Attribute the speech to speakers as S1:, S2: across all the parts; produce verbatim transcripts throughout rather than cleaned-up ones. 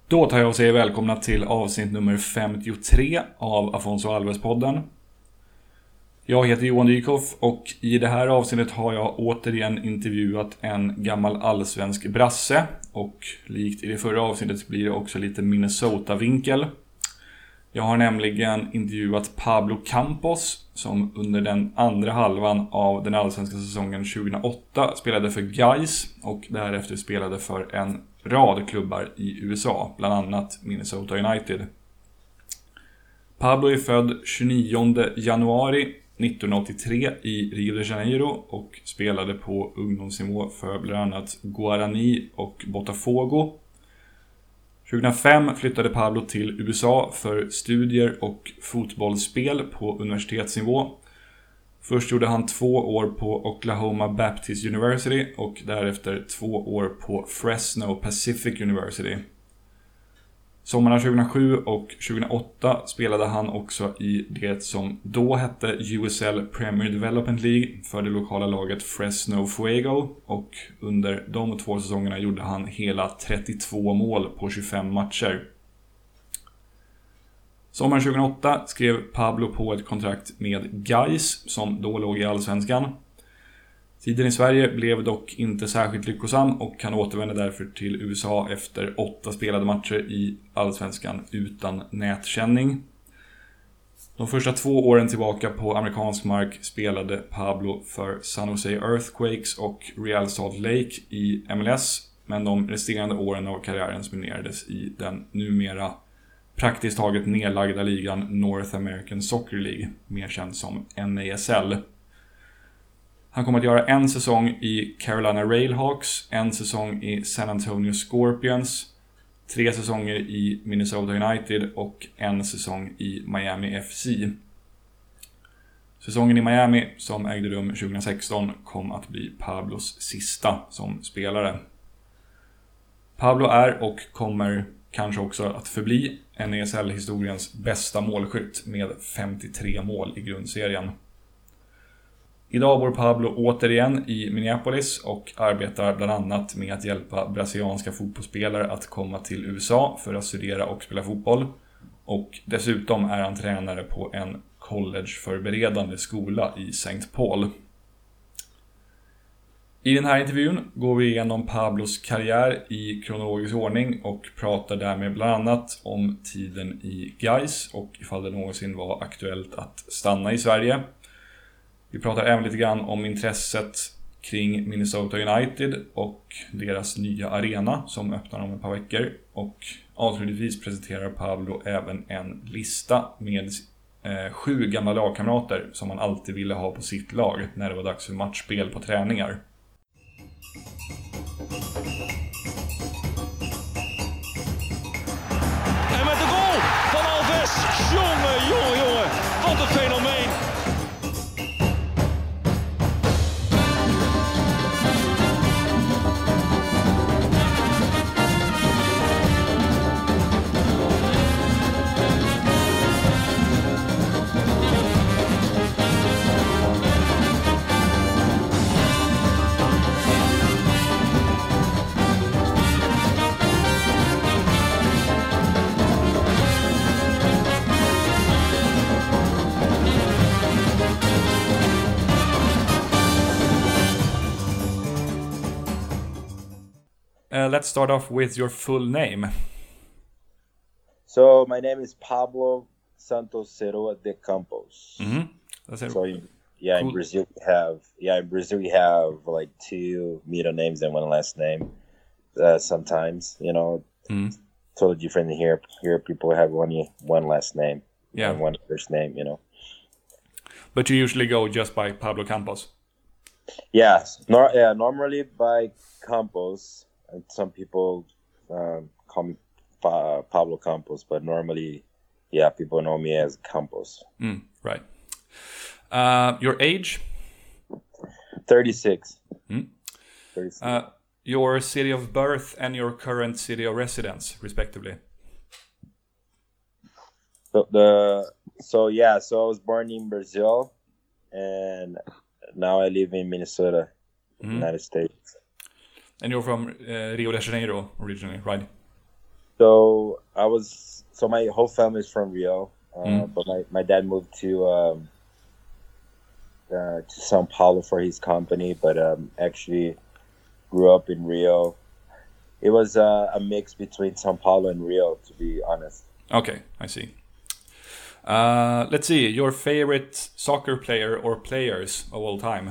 S1: Då tar jag och säger välkomna till avsnitt nummer femtiotre av Afonso Alves-podden. Jag heter Johan Dykhoff och i det här avsnittet har jag återigen intervjuat en gammal allsvensk brasse. Och likt i det förra avsnittet blir det också lite Minnesota-vinkel. Jag har nämligen intervjuat Pablo Campos som under den andra halvan av den allsvenska säsongen tjugohundraåtta spelade för Gais och därefter spelade för en rad klubbar i U S A, bland annat Minnesota United. Pablo är född tjugonionde januari nittonhundraåttiotre i Rio de Janeiro och spelade på ungdomsnivå för bland annat Guarani och Botafogo. tjugohundrafem flyttade Pablo till U S A för studier och fotbollsspel på universitetsnivå. Först gjorde han två år på Oklahoma Baptist University och därefter två år på Fresno Pacific University. Sommarna tjugohundrasju och tjugohundraåtta spelade han också i det som då hette U S L Premier Development League för det lokala laget Fresno Fuego, och under de två säsongerna gjorde han hela trettiotvå mål på tjugofem matcher. Sommaren tjugohundraåtta skrev Pablo på ett kontrakt med Gais som då låg i allsvenskan. Tiden i Sverige blev dock inte särskilt lyckosam och han återvände därför till U S A efter åtta spelade matcher i allsvenskan utan nätkänning. De första två åren tillbaka på amerikansk mark spelade Pablo för San Jose Earthquakes och Real Salt Lake i M L S, men de resterande åren av karriären spenderades i den numera praktiskt taget nedlagda ligan North American Soccer League, mer känd som N A S L. Han kommer att göra en säsong i Carolina Railhawks, en säsong i San Antonio Scorpions, tre säsonger i Minnesota United och en säsong i Miami F C. Säsongen i Miami som ägde rum tjugohundrasexton kom att bli Pablos sista som spelare. Pablo är och kommer kanske också att förbli N A S L-historiens bästa målskytt med femtiotre mål i grundserien. Idag bor Pablo återigen i Minneapolis och arbetar bland annat med att hjälpa brasilianska fotbollsspelare att komma till U S A för att studera och spela fotboll. Och dessutom är han tränare på en collegeförberedande skola i Saint Paul. I den här intervjun går vi igenom Pablos karriär i kronologisk ordning och pratar därmed bland annat om tiden i Gais och ifall det någonsin var aktuellt att stanna i Sverige. Vi pratar även lite grann om intresset kring Minnesota United och deras nya arena som öppnar om ett par veckor. Och avslutningsvis presenterar Pablo även en lista med eh, sju gamla lagkamrater som man alltid ville ha på sitt lag när det var dags för matchspel på träningar.
S2: En met de goal van Alves. Jongen, jongen, jongen. Wat een fenomeen.
S1: Uh, let's start off with your full name.
S3: So my name is Pablo Santos Ceroa de Campos.
S1: Mm-hmm. That's it.
S3: So yeah,
S1: Cool.
S3: in Brazil we have yeah in Brazil we have like two middle names and one last name. Uh, sometimes you know,
S1: Mm.
S3: totally different here. Here people have one one last name,
S1: Yeah.
S3: and one first name. You know.
S1: But you usually go just by Pablo Campos.
S3: Yeah, nor- yeah normally by Campos, and some people um, call me pa- Pablo Campos, but normally, yeah, people know me as Campos.
S1: Mm, right. Uh, your age?
S3: thirty-six.
S1: Mm.
S3: thirty-six.
S1: Uh, your city of birth and your current city of residence, respectively.
S3: So the so yeah, so I was born in Brazil, and now I live in Minnesota,
S1: Mhm.
S3: United States.
S1: And you're from uh, Rio de Janeiro originally, right?
S3: So I was so my whole family is from Rio, uh,
S1: Mm.
S3: but my, my dad moved to um, uh, to Sao Paulo for his company, but um, actually grew up in Rio. It was uh, a mix between Sao Paulo and Rio, to be honest.
S1: Okay, I see. Uh, let's see, your favorite soccer player or players of all time?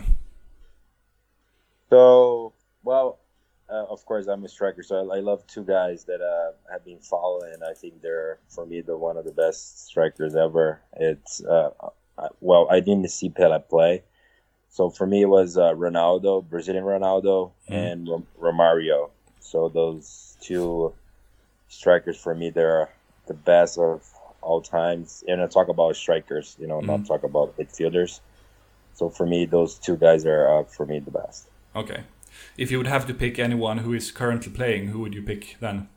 S3: So, well, uh, of course, I'm a striker, so I, I love two guys that uh, have been following. I think they're, for me, the one of the best strikers ever. It's uh, uh, well, I didn't see Pele play, so for me, it was uh, Ronaldo, Brazilian Ronaldo,
S1: Mhm.
S3: and Rom- Romario. So those two strikers for me, they're the best of all times. And I talk about strikers, you know, not
S1: Mhm.
S3: talk about midfielders. So for me, those two guys are uh, for me the best.
S1: Okay. If you would have to pick anyone who is currently playing, who would you pick then?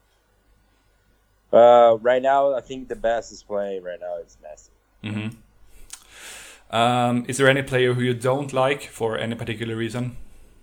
S3: Uh, right now, I think the best is playing right now is Messi.
S1: hmm Um, is there any player who you don't like for any particular reason?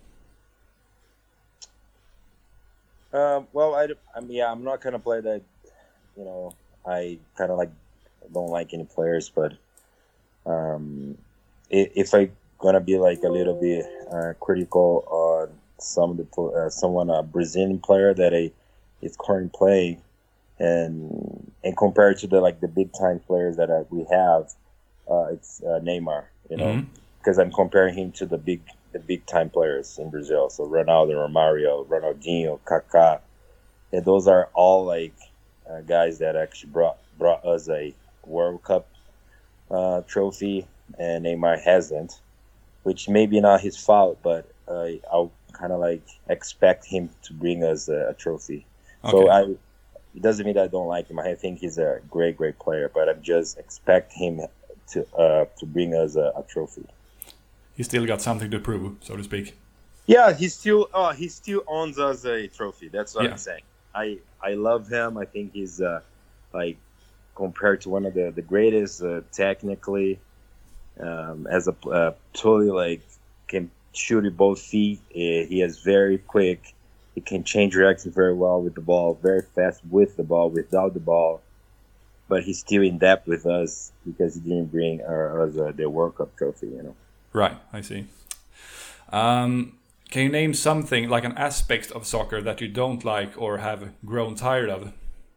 S3: Um, well, I, I mean, yeah, I'm not gonna play that. You know, I kind of like don't like any players, but um, if, if I gonna be like a little bit uh, critical on some of the pl- uh, someone a Brazilian player that I is currently playing, and and compared to the like the big time players that uh, we have, uh, it's uh, Neymar. You know,
S1: Mhm.
S3: because I'm comparing him to the big the big time players in Brazil. So Ronaldo, Romario, Ronaldinho, Kaká, and those are all like uh, guys that actually brought brought us a World Cup uh, trophy, and Neymar hasn't, which maybe not his fault, but uh, I'll kind of like expect him to bring us a, a trophy. So
S1: Okay.
S3: I, it doesn't mean that I don't like him. I think he's a great, great player, but I just expect him to uh, to bring us a, a trophy.
S1: He still got something to prove, so to speak.
S3: Yeah, he still uh, he still owns us a trophy. That's what
S1: Yeah.
S3: I'm saying. I I love him. I think he's uh, like compared to one of the the greatest uh, technically, um, as a uh, totally like can shoot with both feet. Uh, he is very quick. He can change direction very well with the ball. Very fast with the ball, without the ball. But he's still in depth with us because he didn't bring uh, us uh, the World Cup trophy. You know.
S1: Right, I see. Um, can you name something, like an aspect of soccer that you don't like or have grown tired of?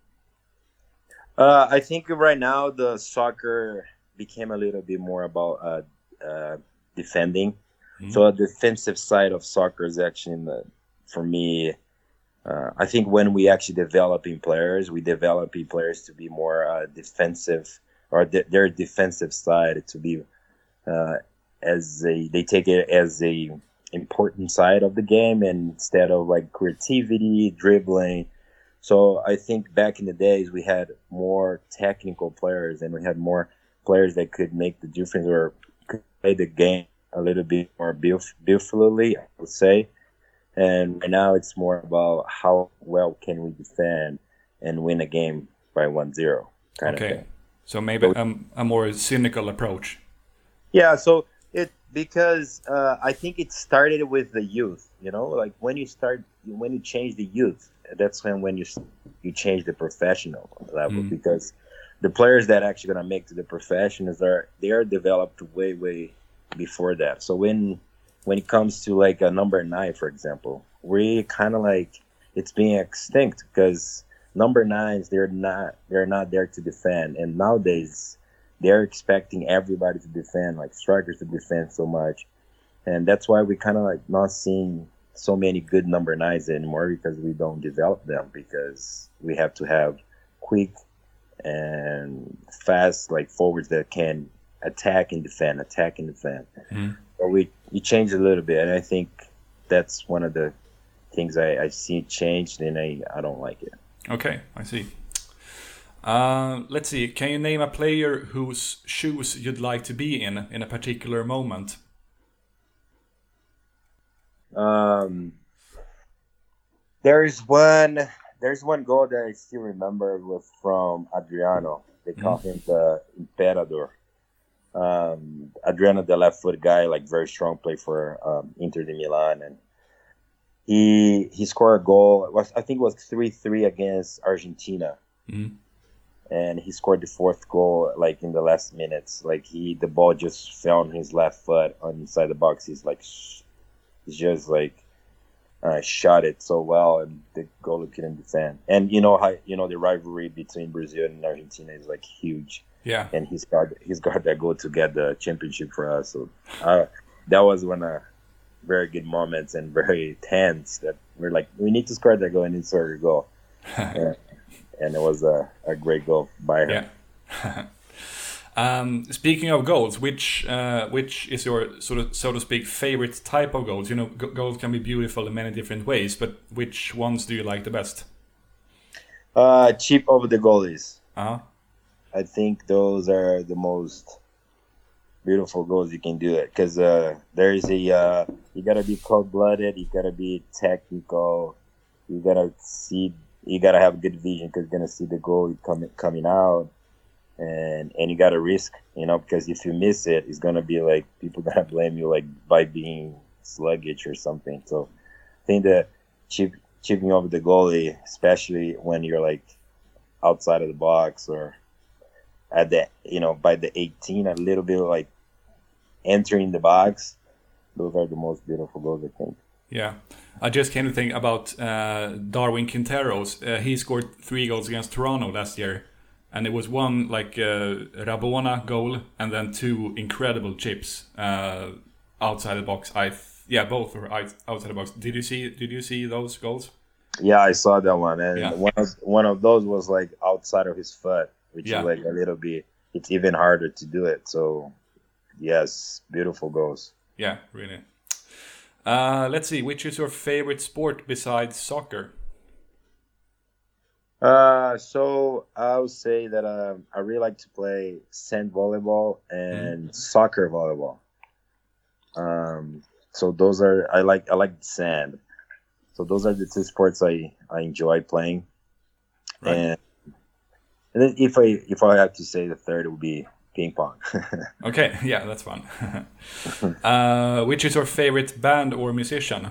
S3: Uh, I think right now the soccer became a little bit more about uh, uh, defending.
S1: Mhm.
S3: So a defensive side of soccer is actually, in the, for me, uh, I think when we actually developing players, we developing players to be more uh, defensive, or de- their defensive side to be uh, as a they take it as a important side of the game, and instead of like creativity, dribbling. So I think back in the days we had more technical players, and we had more players that could make the difference or could play the game a little bit more beauf- beautifully, I would say. And right now it's more about how well can we defend and win a game by one zero kind of
S1: Okay,
S3: thing.
S1: so maybe um, a more cynical approach.
S3: Yeah, so it because uh, I think it started with the youth. You know, like when you start, when you change the youth, that's when when you you change the professional level,
S1: Mm.
S3: because the players that actually gonna make to the professionals are they are developed way way before that. So when when it comes to like a number nine, for example, we kind of like it's being extinct because number nines they're not they're not there to defend, and nowadays they're expecting everybody to defend, like strikers to defend so much, and that's why we kind of like not seeing so many good number nines anymore, because we don't develop them, because we have to have quick and fast like forwards that can attack and defend, attack and defend.
S1: Mm.
S3: Or we we changed a little bit, and I think that's one of the things I, I see changed, and I, I don't like it.
S1: Okay, I see. Uh, let's see. Can you name a player whose shoes you'd like to be in in a particular moment?
S3: Um, there's one there's one goal that I still remember was from Adriano. They call him the Imperador. Um, Adriano, the left foot guy, like very strong, play for um, Inter de Milan, and he he scored a goal. It was I think it was three three against Argentina,
S1: Mm.
S3: and he scored the fourth goal like in the last minutes. Like he the ball just fell on his left foot on inside the box. He's like sh- he's just like uh, shot it so well, and the goalie couldn't defend. And you know how you know the rivalry between Brazil and Argentina is like huge.
S1: Yeah.
S3: And he's got he's got that goal to get the championship for us. So uh, that was one of very good moments and very tense. That we're like, we need to score that goal and need to score a goal. and, and it was a, a great goal by her.
S1: Yeah. um, speaking of goals, which uh, which is your sort of so to speak favorite type of goals? You know, g- goals can be beautiful in many different ways, but which ones do you like the best?
S3: Uh, cheap over the goalies.
S1: Uh-huh.
S3: I think those are the most beautiful goals you can do it because uh, there's a uh, you gotta be cold blooded, you gotta be technical, you gotta see, you gotta have good vision because you're gonna see the goal coming coming out, and and you gotta risk, you know, because if you miss it, it's gonna be like people gonna blame you like by being sluggish or something. So I think that chip, chipping over the goalie, especially when you're like outside of the box or at the, you know, by the eighteen, a little bit like entering the box. Those are the most beautiful goals, I think.
S1: Yeah, I just came to think about uh, Darwin Quinteros. Uh, he scored three goals against Toronto last year, and it was one like uh, Rabona goal and then two incredible chips uh, outside the box. I th- yeah, both were out- outside the box. Did you see? Did you see those goals?
S3: Yeah, I saw that one, and
S1: Yeah.
S3: one of one of those was like outside of his foot, which
S1: Yeah.
S3: is like a little bit. It's even harder to do it. So, yes, beautiful goals.
S1: Yeah, really. Uh, let's see. Which is your favorite sport besides soccer?
S3: Uh, so I would say that um, I really like to play sand volleyball and soccer volleyball. Um, so those are I like I like sand. So those are the two sports I, I enjoy playing.
S1: Right.
S3: And and then if I if I had to say the third, it would be ping pong.
S1: Okay, yeah, that's fun. uh, which is your favorite band or musician?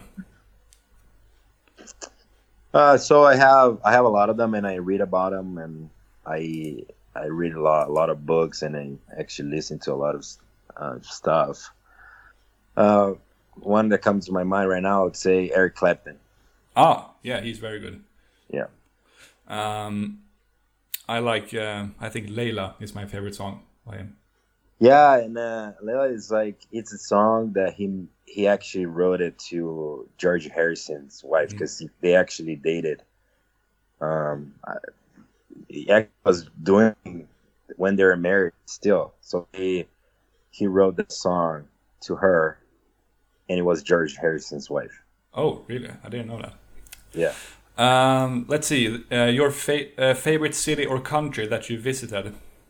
S3: Uh, so I have I have a lot of them, and I read about them, and I I read a lot a lot of books, and I actually listen to a lot of uh, stuff. Uh, one that comes to my mind right now, I would say Eric Clapton.
S1: Ah, yeah, he's very good.
S3: Yeah,
S1: Um, I like. Uh, I think Layla is my favorite song by him.
S3: yeah, and uh, Layla is like it's a song that he he actually wrote it to George Harrison's wife because they actually dated. Um, I, he act- was doing when they were married still, so he he wrote the song to her, and it was George Harrison's wife.
S1: Oh, really? I didn't know that.
S3: Yeah.
S1: Um, let's see. Uh, your fa- uh, favorite city or country that you visited?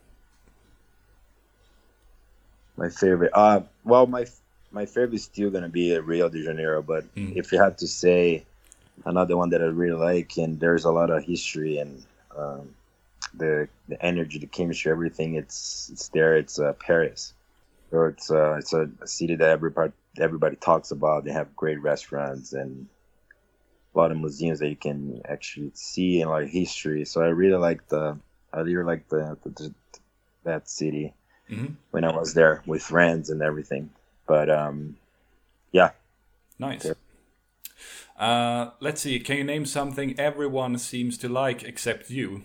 S3: My favorite. Uh, well, my my favorite is still gonna be Rio de Janeiro. But
S1: Mm.
S3: if you had to say another one that I really like, and there's a lot of history and um, the the energy, the chemistry, everything. It's it's there. It's uh, Paris. So it's uh, it's a, a city that everybody everybody talks about. They have great restaurants and a lot of museums that you can actually see and like history. So I really like the I really like the, the, the that city.
S1: Mhm.
S3: When I was there with friends and everything. But um, yeah,
S1: Nice. Uh, let's see. Can you name something everyone seems to like except you?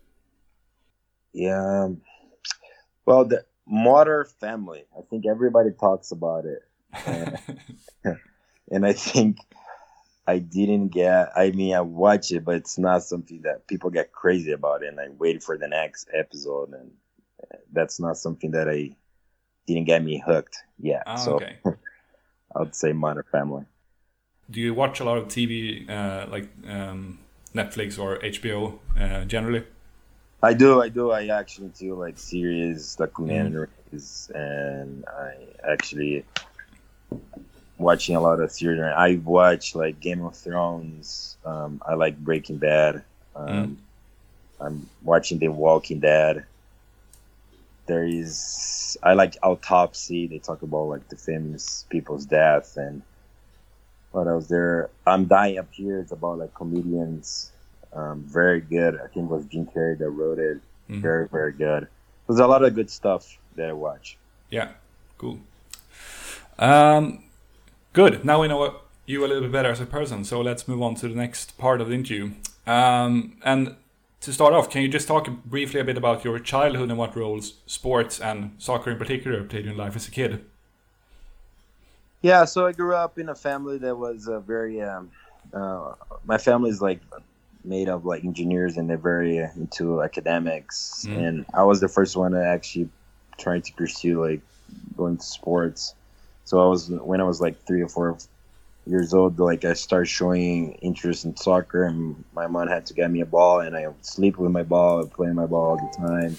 S3: yeah. um, Well, the Modern Family. I think everybody talks about it, and, and I think I didn't get. I mean, I watch it, but it's not something that people get crazy about, and I wait for the next episode, and that's not something that I didn't get me hooked yet.
S1: Ah,
S3: so
S1: okay.
S3: I would say Modern Family.
S1: Do you watch a lot of T V, uh, like um, Netflix or H B O uh, generally?
S3: I do, I do. I actually do like series, documentaries, and I actually watching a lot of series. I watch like Game of Thrones. Um, I like Breaking Bad. Um,
S1: Mm.
S3: I'm watching The Walking Dead. There is, I like Autopsy. They talk about like the famous people's death, and What else there? I'm Dying Up Here. It's about like comedians. Um, very good. I think it was Jim Carrey that wrote it.
S1: Mhm.
S3: Very, very good. There's a lot of good stuff that I watch.
S1: Yeah, cool. Um, good. Now we know you a little bit better as a person, so let's move on to the next part of the interview. Um, and to start off, can you just talk briefly a bit about your childhood and what roles sports and soccer in particular played in life as a kid?
S3: Yeah, so I grew up in a family that was uh, very. Um, uh, my family is like made of like engineers, and they're very uh, into academics.
S1: Mm.
S3: And I was the first one to actually try to pursue like going to sports. So I was when I was like three or four years old, like I started showing interest in soccer, and my mom had to get me a ball, and I would sleep with my ball, play my ball all the time.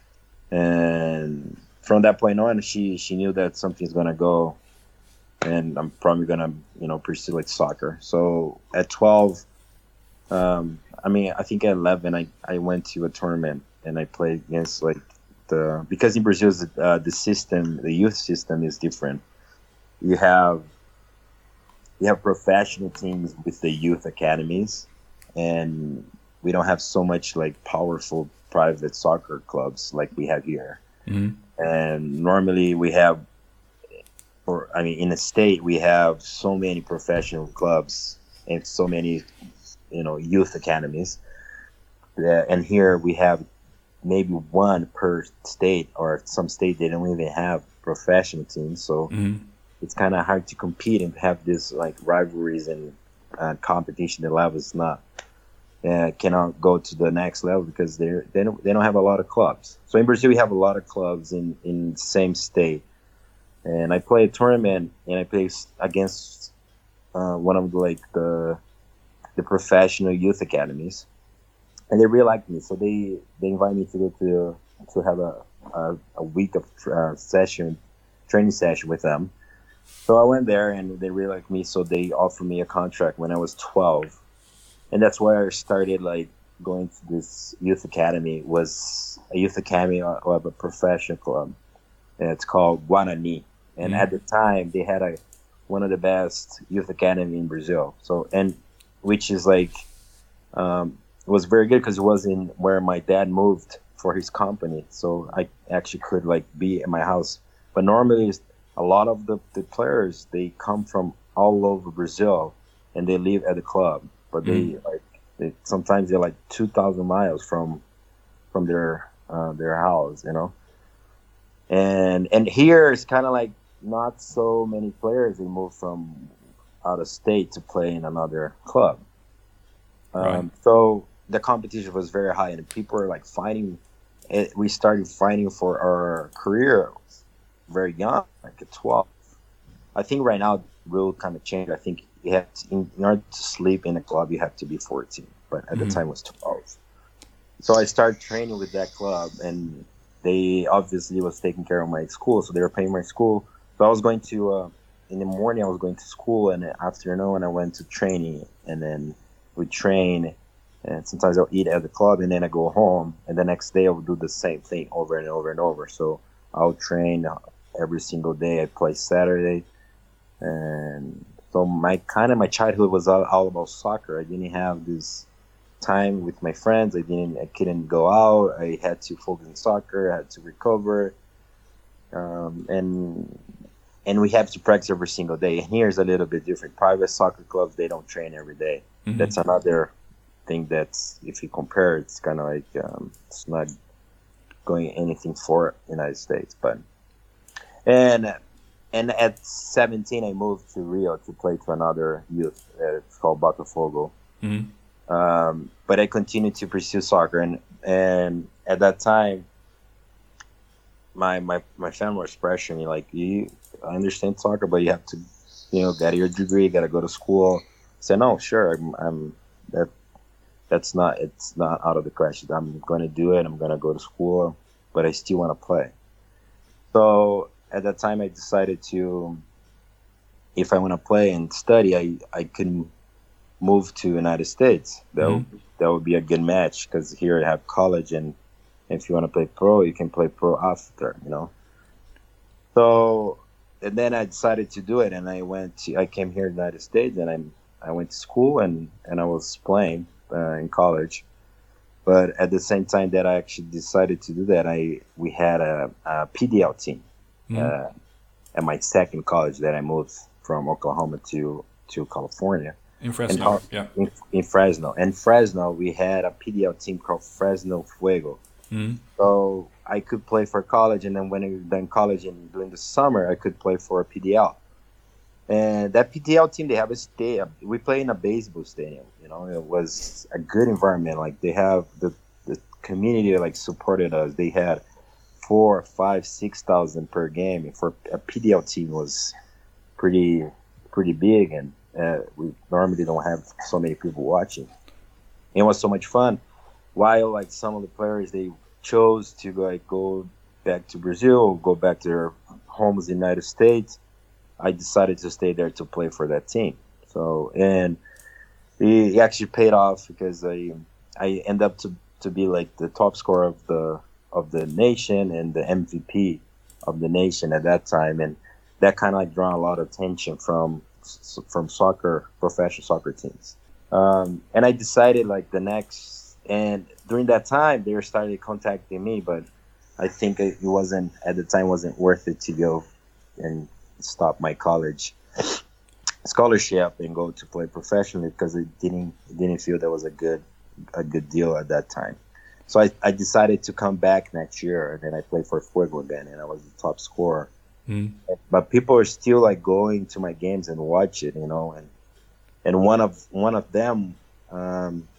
S3: And from that point on, she she knew that something's gonna go. And I'm probably gonna, you know, pursue like soccer. So at twelve, um, I mean, I think at eleven, I, I went to a tournament and I played against like the because in Brazil uh, the system, the youth system is different. You have you have professional teams with the youth academies, and we don't have so much like powerful private soccer clubs like we have here.
S1: Mm-hmm.
S3: And normally we have. Or, I mean, in the state, we have so many professional clubs and so many, you know, youth academies. Uh, and here we have maybe one per state, or some state they don't even have professional teams. So
S1: Mm-hmm.
S3: it's kind of hard to compete and have this like rivalries and uh, competition. The level is not uh, cannot go to the next level because they they don't they don't have a lot of clubs. So in Brazil, we have a lot of clubs in in the same state. And I played a tournament, and I played against uh, one of the, like the the professional youth academies, and they really liked me. So they, they invited me to go to to have a a, a week of uh, session, training session with them. So I went there, and they really liked me. So they offered me a contract when I was twelve, and that's where I started like going to this youth academy. It was a youth academy of a professional club, and it's called Guarani. And
S1: Mm.
S3: at the time, they had a one of the best youth academy in Brazil. So, and which is like um, was very good because it was in where my dad moved for his company. So I actually could like be at my house. But normally, a lot of the, the players they come from all over Brazil, and they live at the club. But they
S1: Mm.
S3: like they, sometimes they're like two thousand miles from from their uh, their house, you know. And and here it's kind of like. Not so many players they move from out of state to play in another club. Um,
S1: Right.
S3: So the competition was very high, and people were like fighting. It, we started fighting for our career very young, like at twelve. I think right now the rule kind of changed. I think you have to, in, in order to sleep in a club, you have to be fourteen, but at
S1: Mhm.
S3: the time it was twelve. So I started training with that club, and they obviously was taking care of my school, so they were paying my school. So I was going to, uh, in the morning I was going to school, and in the afternoon I went to training, and then we train, and sometimes I'll eat at the club, and then I go home, and the next day I will do the same thing over and over and over. So I'll train every single day. I play Saturday, and so my kind of my childhood was all, all about soccer. I didn't have this time with my friends. I didn't, I couldn't go out. I had to focus on soccer. I had to recover. Um, and and we have to practice every single day. And here's a little bit different. Private soccer clubs, they don't train every day.
S1: Mhm.
S3: That's another thing that's, if you compare, it's kind of like um, it's not going anything for United States. But and and at seventeen, I moved to Rio to play to another youth. Uh, it's called Botafogo.
S1: Mhm.
S3: Um, but I continued to pursue soccer, and and at that time. My, my my family was pressuring me like, you I understand soccer, but you have to, you know, get your degree, you got to go to school. I said, no, sure, I'm, I'm that that's not it's not out of the question. I'm going to do it. I'm going to go to school, but I still want to play. So at that time, I decided to, if I want to play and study, I I can move to United States. That
S1: Mhm.
S3: would, that would be a good match because here I have college, and if you want to play pro, you can play pro after, you know. So and then I decided to do it, and I went. To, I came here to the United States, and I I went to school, and and I was playing uh, in college. But at the same time that I actually decided to do that, I we had a, a P D L team mm. uh, at my second college that I moved from Oklahoma to to California.
S1: In Fresno,
S3: in,
S1: yeah.
S3: In, in Fresno. In Fresno, we had a P D L team called Fresno Fuego.
S1: Mm.
S3: So I could play for college, and then when I was done college and during the summer, I could play for a P D L. And that P D L team, they have a stadium. We play in a baseball stadium. You know, it was a good environment. Like they have the the community like supported us. They had four, five, six thousand per game. And for a P D L team was pretty pretty big, and uh, we normally don't have so many people watching. It was so much fun. While like some of the players they chose to like go back to Brazil or go back to their homes in the United States, I decided to stay there to play for that team. So, and it actually paid off because I I end up to, to be like the top scorer of the of the nation and the M V P of the nation at that time, and that kind of like drawn a lot of attention from from soccer professional soccer teams. Um, and I decided like the next, and during that time they were started contacting me, but I think it wasn't at the time wasn't worth it to go and stop my college scholarship and go to play professionally because it didn't it didn't feel that was a good a good deal at that time. So I, I decided to come back next year, and then I played for Fuego again, and I was the top scorer. Mm. But people are still like going to my games and watch it, you know, and and one of one of them um,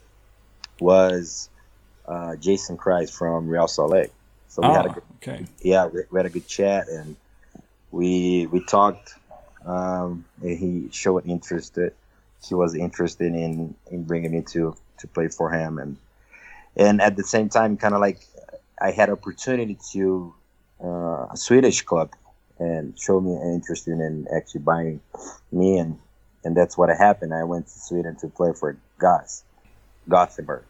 S3: was uh, Jason Kreis from Real Salt Lake. So we
S1: oh,
S3: had a good,
S1: okay.
S3: yeah, we, we had a good chat, and we we talked. Um, and he showed interest. He was interested in, in bringing me to, to play for him, and and at the same time, kind of like I had opportunity to uh, a Swedish club and showed me an interest in actually buying me, and and that's what happened. I went to Sweden to play for Gas, Gothenburg.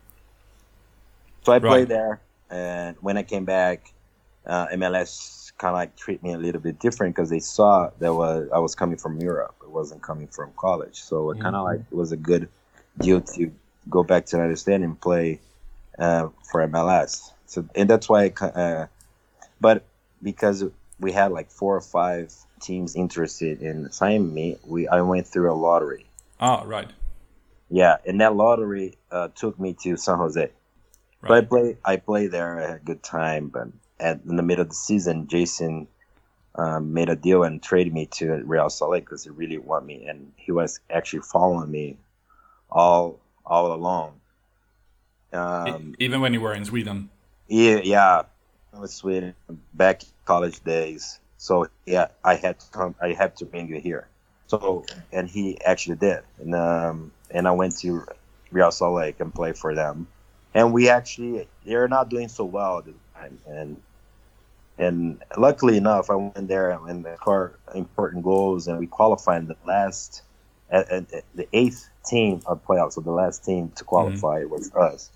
S3: So I played right. there, and when I came back, uh, M L S kind of like treat me a little bit different because they saw that was I was coming from Europe. It wasn't coming from college, so it kind of mm-hmm. like it was a good deal to go back to the United States and play uh, for M L S. So and that's why, I, uh, but because we had like four or five teams interested in signing me, we I went through a lottery.
S1: Oh, right.
S3: Yeah, and that lottery uh, took me to San Jose. Right. So I played I played there. I had a good time, but at in the middle of the season, Jason um, made a deal and traded me to Real Salt Lake because he really wanted me, and he was actually following me all all along. Um,
S1: Even when you were in Sweden.
S3: Yeah, yeah, I was Sweden back in college days. So yeah, I had to come. I had to bring you here. So and he actually did, and um, and I went to Real Salt Lake and played for them, and we actually they're not doing so well at the time, and. And luckily enough, I went there and scored important goals, and we qualified in the last, at, at, at the eighth team of playoffs. So the last team to qualify mm-hmm. was us,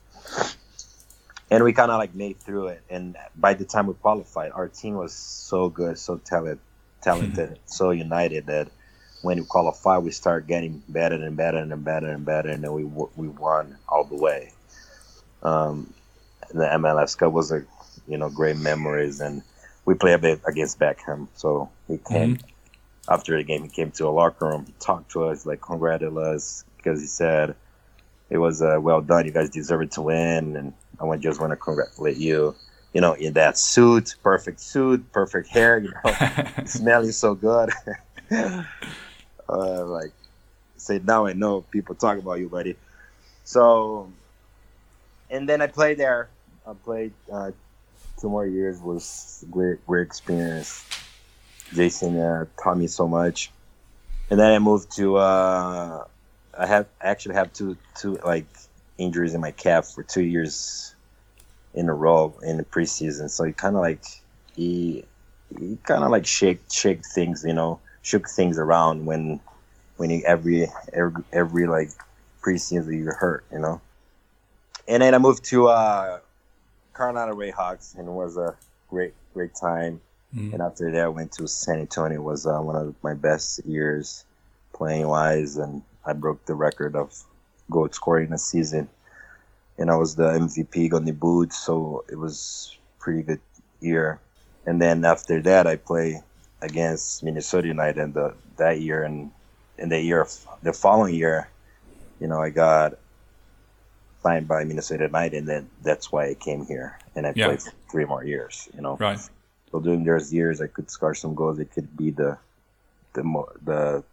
S3: and we kind of like made through it. And by the time we qualified, our team was so good, so talented, talented, mm-hmm. so united that when we qualified, we started getting better and better and better and better, and then we we won all the way. Um, the M L S Cup was a you know great memories, and we played a bit against Beckham, so he came mm-hmm. after the game. He came to a locker room, he talked to us, like congratulated us because he said it was uh, well done. You guys deserve it to win, and I just want to congratulate you. You know, in that suit, perfect suit, perfect hair. You know, smelling so good. uh, like, say now I know people talk about you, buddy. So, and then I played there. I played. Uh, Two more years was a great, great experience. Jason uh, taught me so much, and then I moved to. Uh, I have actually have two, two like injuries in my calf for two years in a row in the preseason. So he kind of like he, he kind of like shake, shake things, you know, shook things around when, when you every, every, every like preseason you hurt, you know. And then I moved to. Uh, Carolina Railhawks, and it was a great, great time. Mm. And after that, I went to San Antonio. It was uh, one of my best years playing wise, and I broke the record of goal scoring in a season. And I was the M V P on the boot, so it was a pretty good year. And then after that, I played against Minnesota United in the, that year, and in the year, the following year, you know, I got signed by Minnesota United, and then that's why I came here, and I
S1: yeah.
S3: played for three more years. You know,
S1: right.
S3: So during those years, I could score some goals. It could be the the the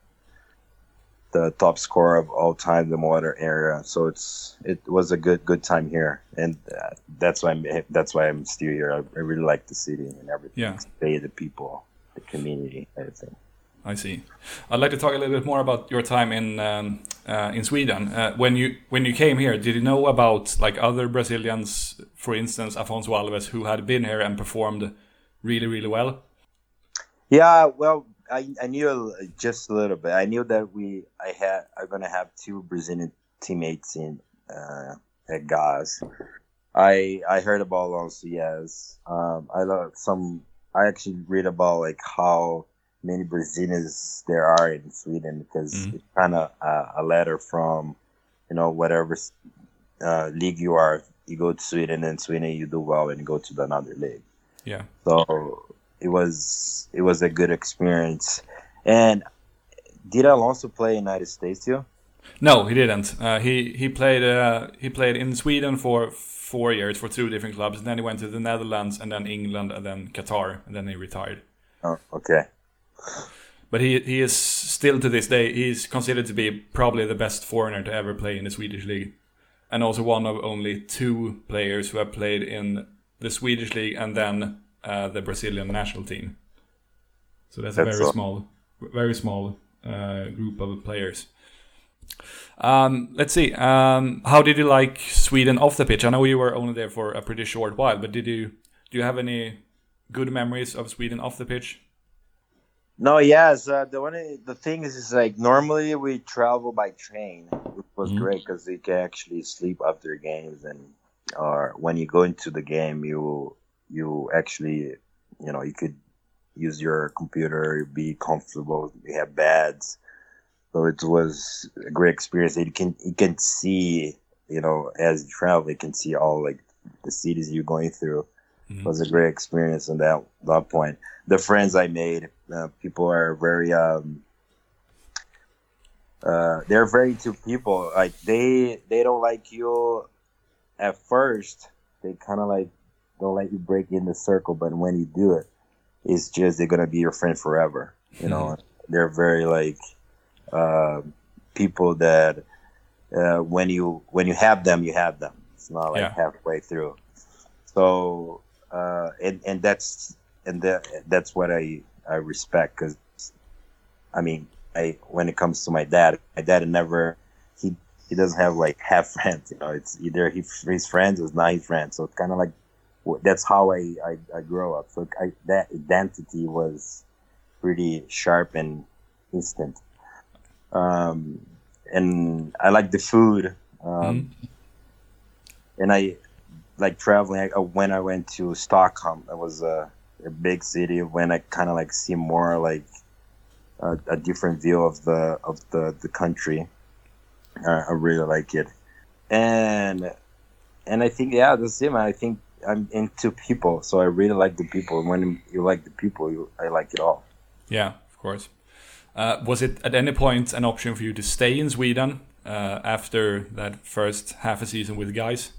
S3: the top scorer of all time, the Motor area. So it's it was a good good time here, and uh, that's why I'm that's why I'm still here. I, I really like the city and everything.
S1: Yeah,
S3: the people, the community, everything.
S1: I see. I'd like to talk a little bit more about your time in um, uh, in Sweden. Uh, when you when you came here, did you know about like other Brazilians, for instance, Afonso Alves, who had been here and performed really, really well?
S3: Yeah, well, I, I knew just a little bit. I knew that we I had I'm gonna have two Brazilian teammates in uh, at G A S. I I heard about Alonso. Yes, um, I love some. I actually read about like how many Brazilians there are in Sweden, because mm-hmm. it's kind of uh, a letter from, you know, whatever uh, league you are. You go to Sweden, and Sweden you do well, and you go to the another league.
S1: Yeah.
S3: So it was it was a good experience. And did Alonso play in the United States too?
S1: No, he didn't. Uh, he he played uh, he played in Sweden for four years for two different clubs. And then he went to the Netherlands, and then England, and then Qatar, and then he retired.
S3: Oh, okay.
S1: But he he is still to this day, he's considered to be probably the best foreigner to ever play in the Swedish league, and also one of only two players who have played in the Swedish league and then uh, the Brazilian national team. So that's, that's a very so. small, very small uh, group of players. Um, let's see. Um, how did you like Sweden off the pitch? I know you were only there for a pretty short while, but did you do you have any good memories of Sweden off the pitch?
S3: No, yes. Uh, the one, the thing is, is like normally we travel by train, which was mm-hmm. great because you can actually sleep after games, and or when you go into the game, you you actually, you know, you could use your computer, be comfortable. You have beds, so it was a great experience. You can you can see, you know, as you travel, you can see all like the cities you're going through. Mm-hmm. It was a great experience on that that point. The friends I made, uh, people are very, um, uh, they're very into people. Like they, they don't like you at first. They kind of like don't let you break in the circle, but when you do it, it's just they're gonna be your friend forever. You know, mm-hmm. they're very like uh, people that uh, when you when you have them, you have them. It's not like yeah. halfway through. So uh, and and that's. And that, that's what I, I respect, because, I mean, I when it comes to my dad, my dad never, he he doesn't have, like, half friends, you know, it's either he, his friends or not his friends, so it's kind of like, that's how I, I, I grew up, so I, that identity was pretty sharp and instant. Um, and I like the food, um, mm. and I like traveling. I, when I went to Stockholm, I was, uh, a big city, when I kind of like see more like a, a different view of the of the the country. Uh, I really like it, and and I think yeah, that's it, man. I think I'm into people, so I really like the people. When you like the people, you, I like it all.
S1: Yeah, of course. Uh, was it at any point an option for you to stay in Sweden uh, after that first half a season with guys?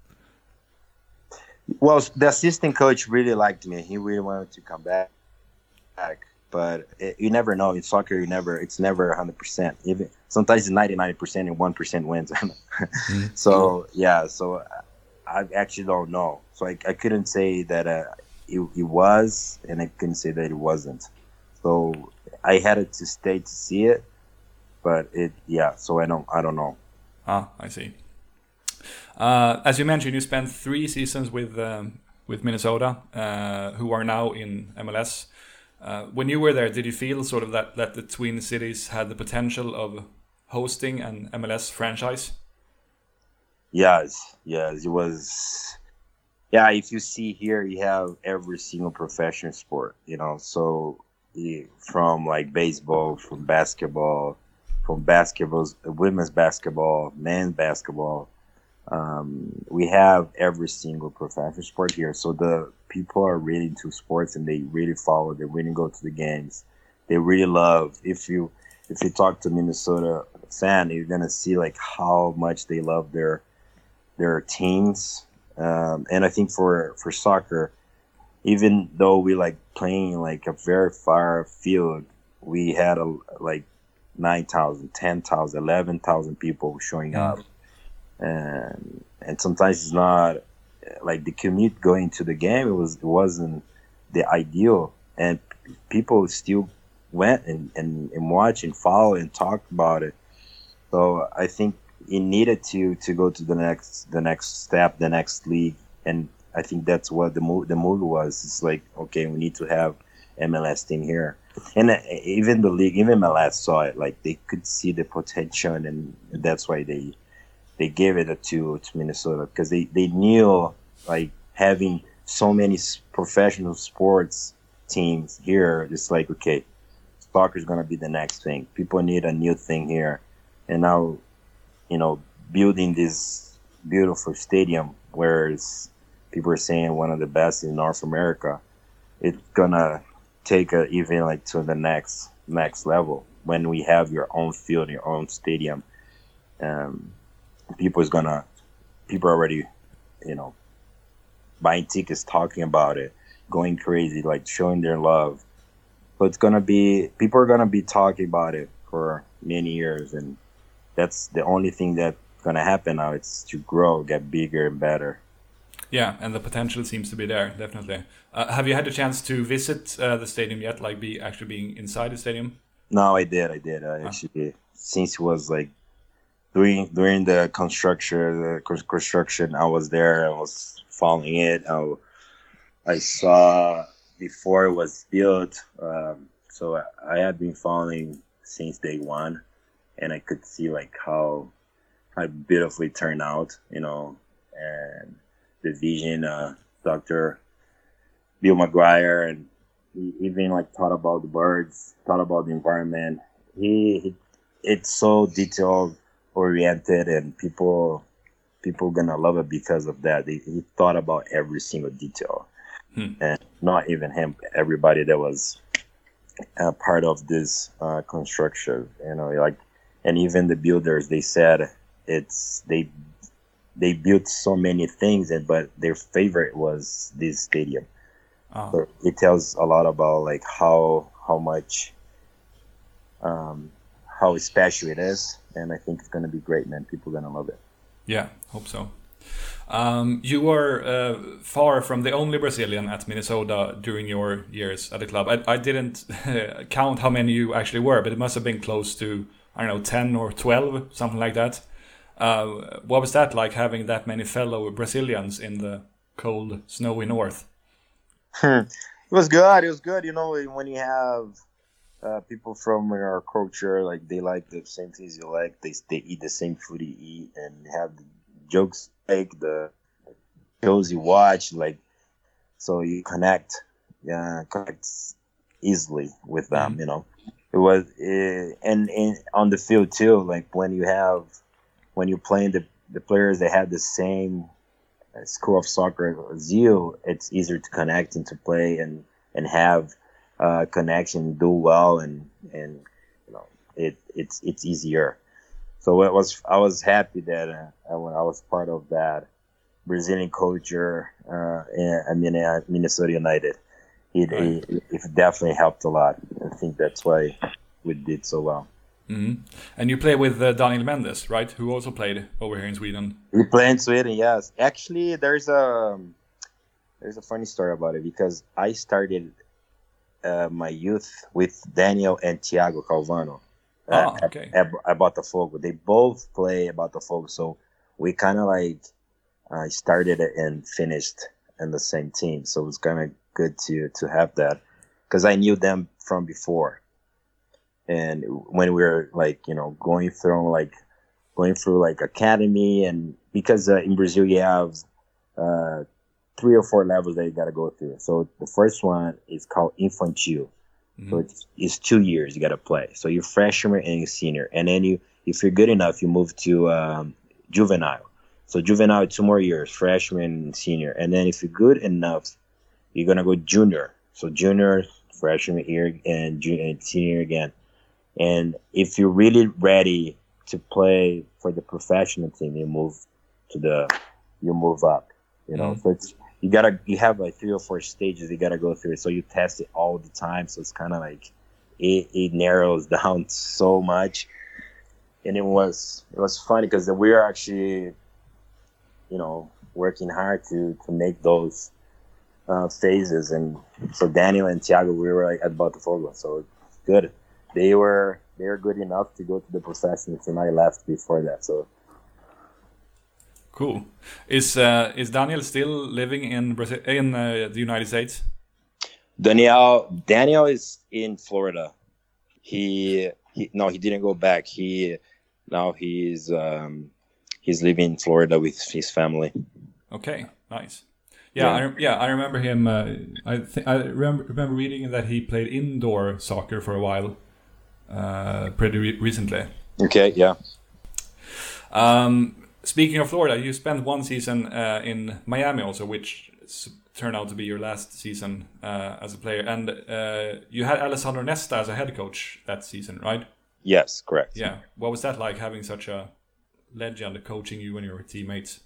S3: Well, the assistant coach really liked me. He really wanted to come back, back. But it, you never know. In soccer, you never. It's never one hundred percent. Even sometimes it's ninety-nine percent and one percent wins. mm-hmm. So yeah. So I actually don't know. So I, I couldn't say that uh, it, it was, and I couldn't say that it wasn't. So I had to stay to see it. But it, yeah. So I don't. I don't know.
S1: Ah, I see. Uh, as you mentioned, you spent three seasons with um, with Minnesota, uh, who are now in M L S. Uh, when you were there, did you feel sort of that, that the Twin Cities had the potential of hosting an M L S franchise?
S3: Yes, yes. It was yeah, if you see here, you have every single professional sport, you know. So eh, from like baseball, from basketball, from basketball, women's basketball, men's basketball. Um, we have every single professional sport here. So the people are really into sports and they really follow. They really go to the games. They really love. If you if you talk to Minnesota fan, you're gonna see like how much they love their their teams. Um, and I think for for soccer, even though we like playing like a very far field, we had a like nine thousand, ten thousand, eleven thousand people showing
S1: Yeah.
S3: up, and and sometimes it's not like the commute going to the game. It was it wasn't the ideal, and people still went and and, and watch and follow and talk about it. So I think it needed to to go to the next the next step, the next league, and I think that's what the move the move was. It's like, okay, we need to have M L S team here, and uh, even the league, even M L S saw it. Like they could see the potential, and that's why they they gave it to to Minnesota, because they they knew like having so many s- professional sports teams here. It's like, okay, soccer is gonna be the next thing. People need a new thing here, and now, you know, building this beautiful stadium where it's, people are saying one of the best in North America. It's gonna take it even like to the next next level when we have your own field, your own stadium. Um, people is gonna people are already, you know, buying tickets, talking about it, going crazy, like showing their love. So it's gonna be people are gonna be talking about it for many years, and that's the only thing that's gonna happen now. It's to grow, get bigger and better.
S1: Yeah, and the potential seems to be there, definitely. Uh, have you had a chance to visit uh, the stadium yet, like be actually being inside the stadium?
S3: No, I did, I did. I actually, since it was like during during the construction, the cons- construction, I was there. I was following it. I, I saw before it was built. Um, so I, I had been following since day one, and I could see like how how beautifully it turned out, you know, and the vision, uh, Doctor Bill McGuire, and he even like thought about the birds, thought about the environment. He, he it's so detail oriented, and people people gonna love it because of that. He, he thought about every single detail,
S1: Hmm.
S3: and not even him, everybody that was uh, part of this uh, construction, you know, like, and even the builders, they said it's they they built so many things, and but their favorite was this stadium.
S1: Oh.
S3: So it tells a lot about like how how much um, how special it is, and I think it's gonna be great, man. People are gonna love it.
S1: Yeah, hope so. Um, you were uh, far from the only Brazilian at Minnesota during your years at the club. I, I didn't count how many you actually were, but it must have been close to, I don't know, ten or twelve, something like that. Uh, what was that like, having that many fellow Brazilians in the cold, snowy north?
S3: It was good. It was good. You know, when you have uh, people from your culture, like they like the same things you like. They they eat the same food you eat, and have the jokes like the shows you watch, like, so you connect, yeah, connect easily with them.
S1: Mhm.
S3: You know, it was uh, and, and on the field too. Like when you have when you're playing the the players that have the same uh, school of soccer as you, it's easier to connect and to play and and have uh, connection, do well, and and you know it it's it's easier. So it was I was happy that uh, I, when I was part of that Brazilian culture uh, in, I mean, uh, Minnesota United. It,
S1: Right.
S3: it it definitely helped a lot. I think that's why we did so well.
S1: Hmm. And you play with uh, Daniel Mendes, right? Who also played over here in Sweden.
S3: We play in Sweden, yes. Actually, there's a there's a funny story about it, because I started uh, my youth with Daniel and Thiago Calvano uh,
S1: Ah,
S3: at,
S1: okay.
S3: at, at Botafogo. They both play at Botafogo, so we kind of like uh, started it and finished in the same team. So it was kind of good to to have that, because I knew them from before. And when we were like, you know, going through like going through like academy, and because uh, in Brazil you have uh, three or four levels that you got to go through. So the first one is called Infantil. Mm-hmm. So it's, it's two years you got to play. So you're freshman and you're senior. And then you, if you're good enough, you move to um, juvenile. So juvenile, two more years, freshman and senior. And then if you're good enough, you're going to go junior. So junior, freshman year, and, junior, and senior again. And if you're really ready to play for the professional team, you move to the, you move up, you know. Mm-hmm. So it's, you gotta, you have like three or four stages you gotta go through. So you test it all the time. So it's kind of like, it, it narrows down so much. And it was, it was funny because we were actually, you know, working hard to, to make those uh, phases. And so Daniel and Thiago, we were like at Botafogo. So it's good. They were, they were good enough to go to the professional team. I left before that. So
S1: cool. Is uh, is Daniel still living in Brazil, in uh, the United States?
S3: Daniel Daniel is in Florida. He, he no, he didn't go back. He now he's um, he's living in Florida with his family.
S1: Okay, nice. Yeah, yeah, I, yeah, I remember him. Uh, I th- I remember, remember reading that he played indoor soccer for a while, uh, pretty re- recently.
S3: Okay, yeah.
S1: Um, speaking of Florida, you spent one season uh, in Miami also, which turned out to be your last season uh, as a player, and uh, you had Alessandro Nesta as a head coach that season, right?
S3: Yes, correct.
S1: Yeah. What was that like, having such a legend coaching you and your teammates?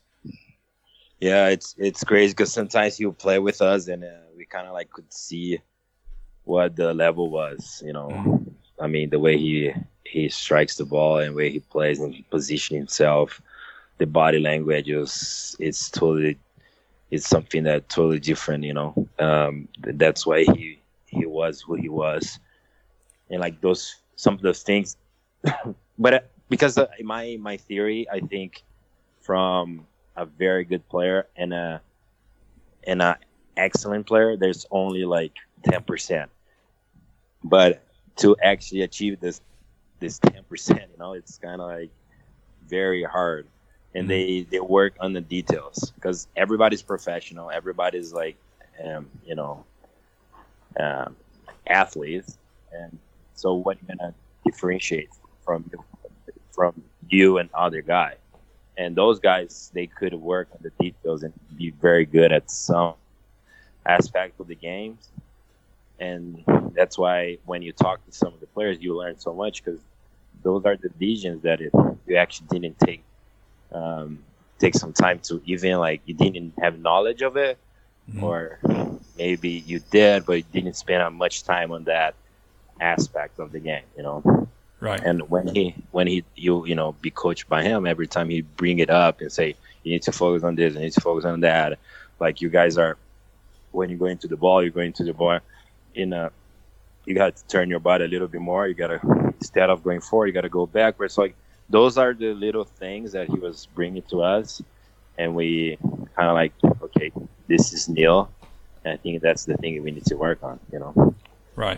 S3: Yeah, it's it's crazy because sometimes he'll play with us and uh, we kind of like could see what the level was, you know. Mm. I mean, the way he he strikes the ball and the way he plays and he positions himself, the body language is it's totally it's something that totally different, you know. Um, that's why he he was who he was, and like those some of those things. But uh, because uh, my my theory, I think from a very good player and a and a excellent player, there's only like ten percent. But to actually achieve this this ten percent, you know, it's kind of like very hard. And they, they work on the details because everybody's professional. Everybody's like, um, you know, um, athletes. And so what you're going to differentiate from from you and other guy. And those guys, they could work on the details and be very good at some aspect of the games. And that's why when you talk to some of the players, you learn so much because those are the visions that it, you actually didn't take um, take some time to even like you didn't have knowledge of it, mm-hmm. or maybe you did, but you didn't spend much time on that aspect of the game, you know.
S1: Right.
S3: And when he, when he, you, you know, be coached by him, every time he bring it up and say, you need to focus on this, you need to focus on that. Like you guys are, when you go into the ball, you're going to the ball in a, you got to turn your body a little bit more. You got to, instead of going forward, you got to go backwards. So like those are the little things that he was bringing to us. And we kind of like, okay, this is Neil. And I think that's the thing we need to work on, you know?
S1: Right.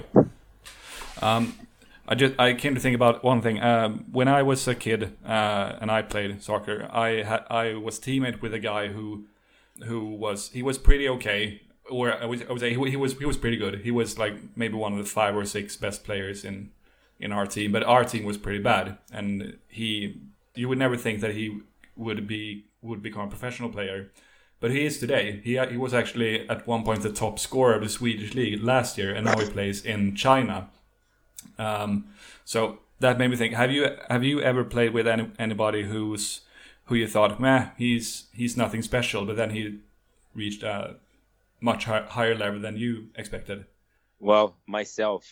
S1: Um, I just I came to think about one thing. Um, when I was a kid uh, and I played soccer, I had I was teammate with a guy who who was he was pretty okay, or I would, I would say he, he was he was pretty good. He was like maybe one of the five or six best players in in our team, but our team was pretty bad. And he you would never think that he would be would become a professional player, but he is today. He he was actually at one point the top scorer of the Swedish league last year, and now he plays in China. Um, so that made me think: Have you have you ever played with any, anybody who's who you thought, meh, he's he's nothing special, but then he reached a much high, higher level than you expected?
S3: Well, myself,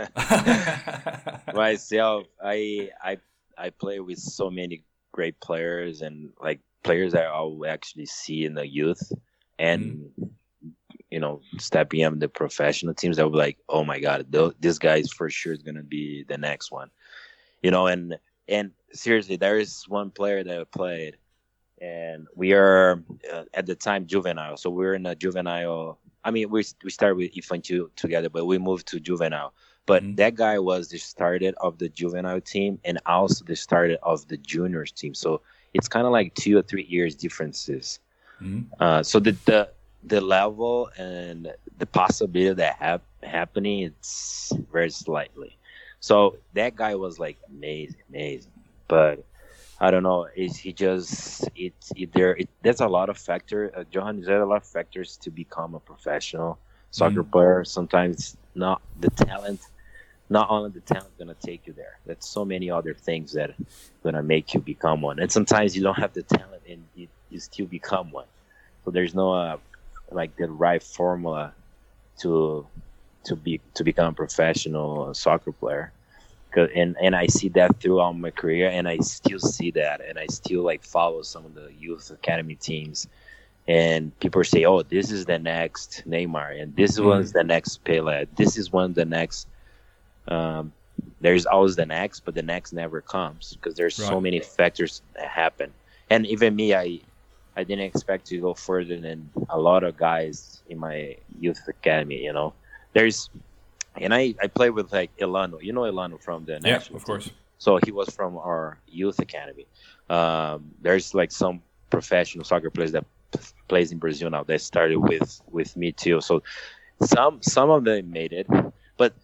S3: myself, I I I play with so many great players and like players that I'll actually see in the youth and. Mm. You know, stepping up the professional teams, I would be like, oh my God, th- this guy is for sure is going to be the next one. You know, and and seriously, there is one player that I played, and we are uh, at the time juvenile. So we were in a juvenile. I mean, we we started with Infantil together, but we moved to juvenile. But mm-hmm. that guy was the starter of the juvenile team and also the starter of the juniors team. So it's kind of like two or three years differences. Mm-hmm. Uh, so the, the the level and the possibility of that hap- happening, it's very slightly. So that guy was like amazing, amazing. But I don't know. Is he just it's it, there? It, there's a lot of factors. Uh, Johan, there are a lot of factors to become a professional soccer
S1: Mm.
S3: player. Sometimes not the talent, not only the talent gonna take you there. There's so many other things that gonna make you become one. And sometimes you don't have the talent and you, you still become one. So there's no uh, like the right formula to to be to become a professional soccer player. 'Cause- And and I see that throughout my career, and I still see that, and I still like follow some of the youth academy teams, and people say, "Oh, this is the next Neymar, and this
S1: Mm.
S3: one's the next Pele. This is one the next." Um, there's always the next, but the next never comes because there's so
S1: Right.
S3: many factors that happen. And even me, I I didn't expect to go further than a lot of guys in my youth academy. You know, there's and I I play with like Elano. You know Elano from the
S1: Yeah,
S3: national
S1: of
S3: team.
S1: course.
S3: So he was from our youth academy. Um, there's like some professional soccer players that p- plays in Brazil now. They started with with me too. So some some of them made it, but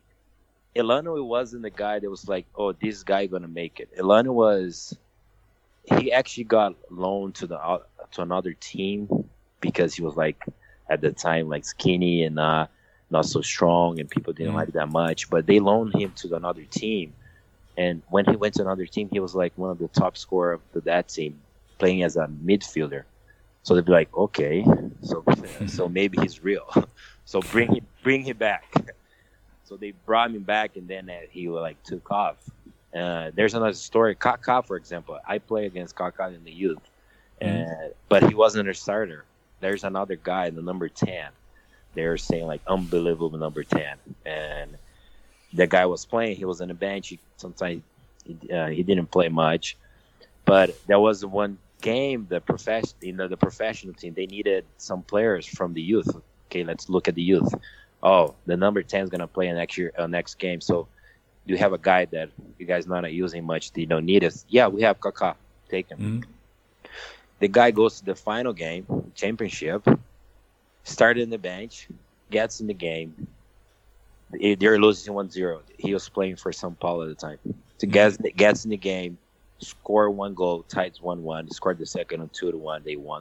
S3: Elano wasn't the guy that was like, oh, this guy gonna make it. Elano was he actually got loaned to the uh, to another team because he was like at the time like skinny and uh, not so strong, and people didn't
S1: Mm.
S3: like that much. But they loaned him to another team, and when he went to another team, he was like one of the top scorer of that team, playing as a midfielder. So they'd be like, okay, so so maybe he's real. So bring him bring him back. So they brought him back, and then uh, he like took off. Uh, there's another story. Kaká, for example, I play against Kaká in the youth, uh, but he wasn't a starter. There's another guy, the number ten. They're saying like unbelievable number ten, and the guy was playing. He was on the bench. He, sometimes he, uh, he didn't play much, but there was one game. The profession, you know, the professional team, they needed some players from the youth. Okay, let's look at the youth. Oh, the number ten is gonna play next year, uh, next game. So you have a guy that you guys not using much. You don't need it. Yeah, we have Kaká. Take him.
S1: Mm.
S3: The guy goes to the final game, championship. Started in the bench, gets in the game. They- They're losing one zero. He was playing for São Paulo at the time. So gets gets in the game, score one goal, ties one one. Scored the second one, two to one. They won.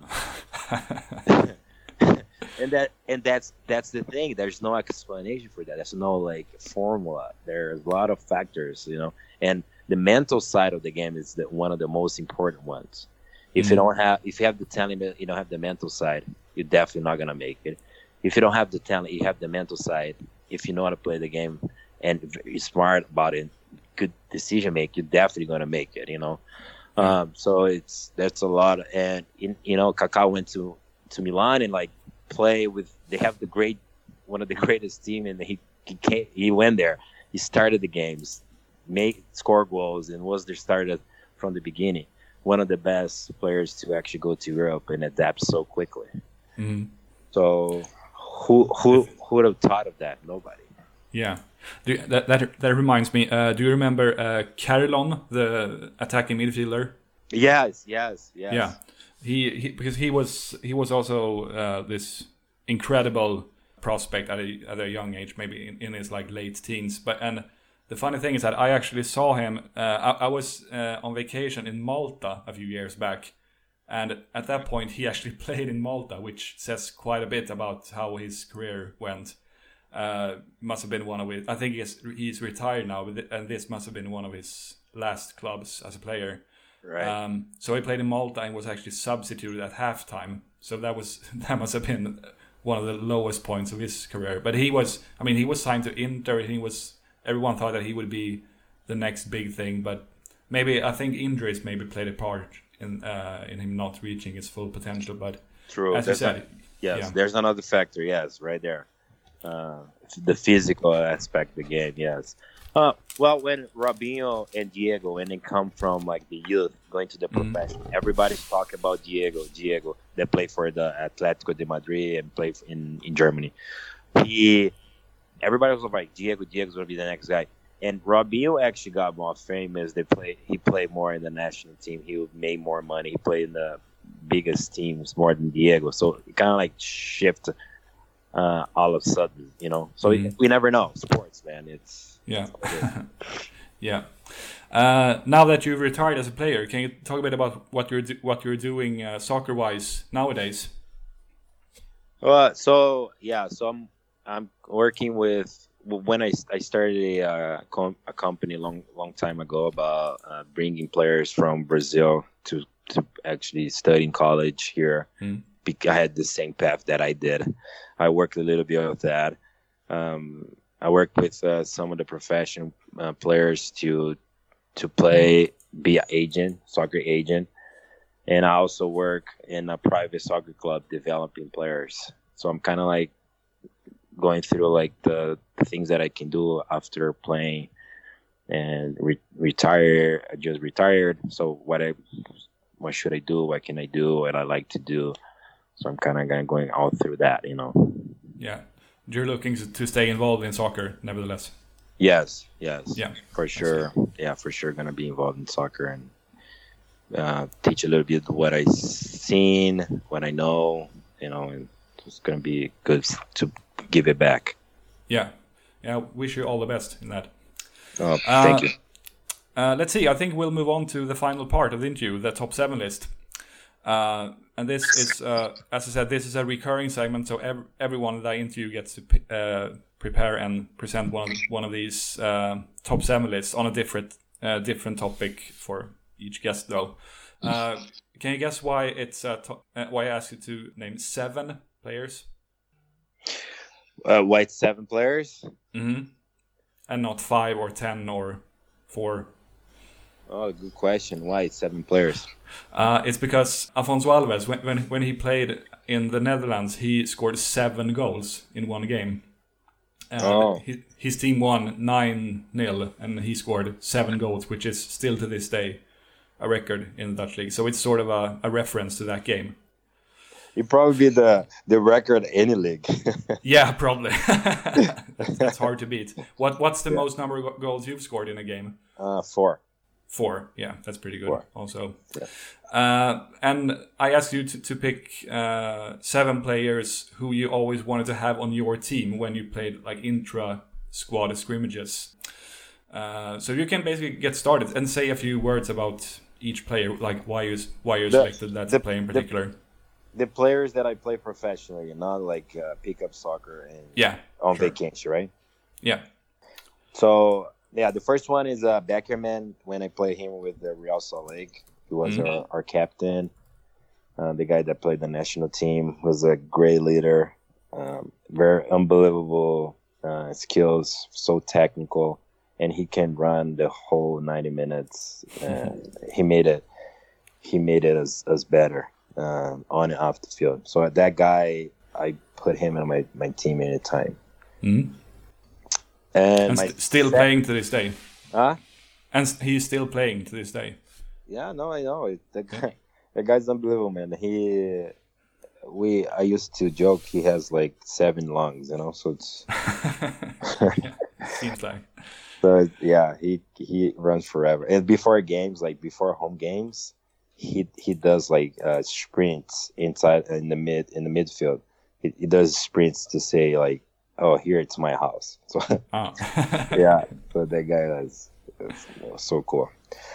S3: and that and that's that's the thing. There's no explanation for that. There's no like formula. There's a lot of factors, you know. And the mental side of the game is the, one of the most important ones. If
S1: Mhm.
S3: you don't have, if you have the talent, you don't have the mental side, you're definitely not gonna make it. If you don't have the talent, you have the mental side. If you know how to play the game and you're smart about it, good decision make, you're definitely gonna make it. You know. Um, so it's that's a lot. And in, you know, Kaká went to to Milan and like play with. They have the great, one of the greatest team, and he he came, he went there. He started the games, made score goals, and was there started from the beginning. One of the best players to actually go to Europe and adapt so quickly.
S1: Mm.
S3: So who who who would have thought of that? Nobody.
S1: Yeah, do, that, that that reminds me. Uh, do you remember uh, Carillon, the attacking midfielder?
S3: Yes, yes, yes.
S1: Yeah, he, he because he was he was also uh, this incredible prospect at a at a young age, maybe in, in his like late teens. But and the funny thing is that I actually saw him. Uh, I, I was uh, on vacation in Malta a few years back, and at that point he actually played in Malta, which says quite a bit about how his career went. Uh, must have been one of his. I think he's he's retired now, but and this must have been one of his last clubs as a player.
S3: Right.
S1: Um, so he played in Malta and was actually substituted at halftime. So that was that must have been one of the lowest points of his career. But he was, I mean, he was signed to Inter. He was. Everyone thought that he would be the next big thing, but maybe I think injuries maybe played a part in uh, in him not reaching his full potential. But
S3: True.
S1: as
S3: There's
S1: you
S3: a-
S1: said,
S3: yes,
S1: yeah.
S3: there's another factor. Yes, right there. Uh, the physical aspect of the game. Yes. Uh, well, when Robinho and Diego, when they come from like the youth going to the
S1: Mhm.
S3: profession, everybody's talking about Diego. Diego, they play for the Atletico de Madrid and play in in Germany. He, everybody was like, Diego, Diego's gonna be the next guy. And Robinho actually got more famous. They play. He played more in the national team. He made more money. He played in the biggest teams more than Diego. So it kind of like shift uh, all of a sudden, you know. So
S1: Mm.
S3: we, we never know. Sports, man. It's
S1: Yeah. Yeah. Uh, now that you've retired as a player, can you talk a bit about what you're do- what you're doing uh, soccer-wise nowadays?
S3: Uh, so yeah, so I'm I'm working with when I, I started a uh, com- a company long long time ago about uh, bringing players from Brazil to to actually study in college here.
S1: Mm.
S3: Be- I had the same path that I did. I worked a little bit with that. Um, I worked with uh, some of the professional uh, players to to play, be an agent, soccer agent. And I also work in a private soccer club developing players. So I'm kind of like going through like the, the things that I can do after playing and re- retire. I just retired. So what I, what should I do? What can I do? What I like to do? So I'm kind of going all through that, you know.
S1: Yeah, you're looking to stay involved in soccer, nevertheless.
S3: Yes, yes,
S1: yeah,
S3: for sure. Yeah, for sure, gonna be involved in soccer and uh, teach a little bit what I've seen, what I know, you know, and it's gonna be good to give it back.
S1: Yeah, yeah. Wish you all the best in that.
S3: Oh, thank
S1: uh,
S3: you.
S1: Uh, let's see. I think we'll move on to the final part of the interview, the top seven list. Uh, and this is, uh, as I said, this is a recurring segment. So ev- everyone that I interview gets to p- uh, prepare and present one of, one of these uh, top seven lists on a different uh, different topic for each guest, though. Uh, can you guess why it's uh, to- uh, why I asked you to name seven players?
S3: Uh, white seven players.
S1: Mm-hmm. And not five or ten or four.
S3: Oh, good question. Why seven players?
S1: Uh, it's because Afonso Alves, when, when when he played in the Netherlands, he scored seven goals in one game. Uh,
S3: oh.
S1: His, his team won nine nil, and he scored seven goals, which is still to this day a record in the Dutch league. So it's sort of a, a reference to that game.
S3: You'd probably be the, the record any league.
S1: Yeah, probably. that's, that's hard to beat. What What's the
S3: yeah.
S1: most number of goals you've scored in a game?
S3: Uh, four.
S1: Four, yeah, that's pretty good.
S3: Four.
S1: Also,
S3: yeah.
S1: uh, and I asked you to, to pick uh, seven players who you always wanted to have on your team when you played like intra squad scrimmages. Uh, so you can basically get started and say a few words about each player, like why you why you selected that
S3: the,
S1: player in particular.
S3: The, the players that I play professionally, not like uh, pick up soccer and
S1: yeah,
S3: on
S1: sure.
S3: vacation, right?
S1: Yeah.
S3: So. Yeah, the first one is uh, Beckerman. When I played him with the Real Salt Lake, he was
S1: mm-hmm.
S3: our, our captain. Uh, the guy that played the national team was a great leader, um, very unbelievable uh, skills, so technical, and he can run the whole ninety minutes. Uh, he made it. He made it as as better um, on and off the field. So that guy, I put him in my my team anytime.
S1: Mm-hmm.
S3: And,
S1: and st- still
S3: sec-
S1: playing to this day.
S3: Huh?
S1: And he's still playing to this day.
S3: Yeah, no, I know. The guy, the guy's unbelievable, man. He, we, I used to joke he has like seven lungs, you know. So it's.
S1: yeah, seems like.
S3: So yeah, he he runs forever. And before games, like before home games, he he does like uh, sprints inside in the mid in the midfield. He, he does sprints to say like, oh, here it's my house. So
S1: oh.
S3: yeah, so that guy is, is so cool.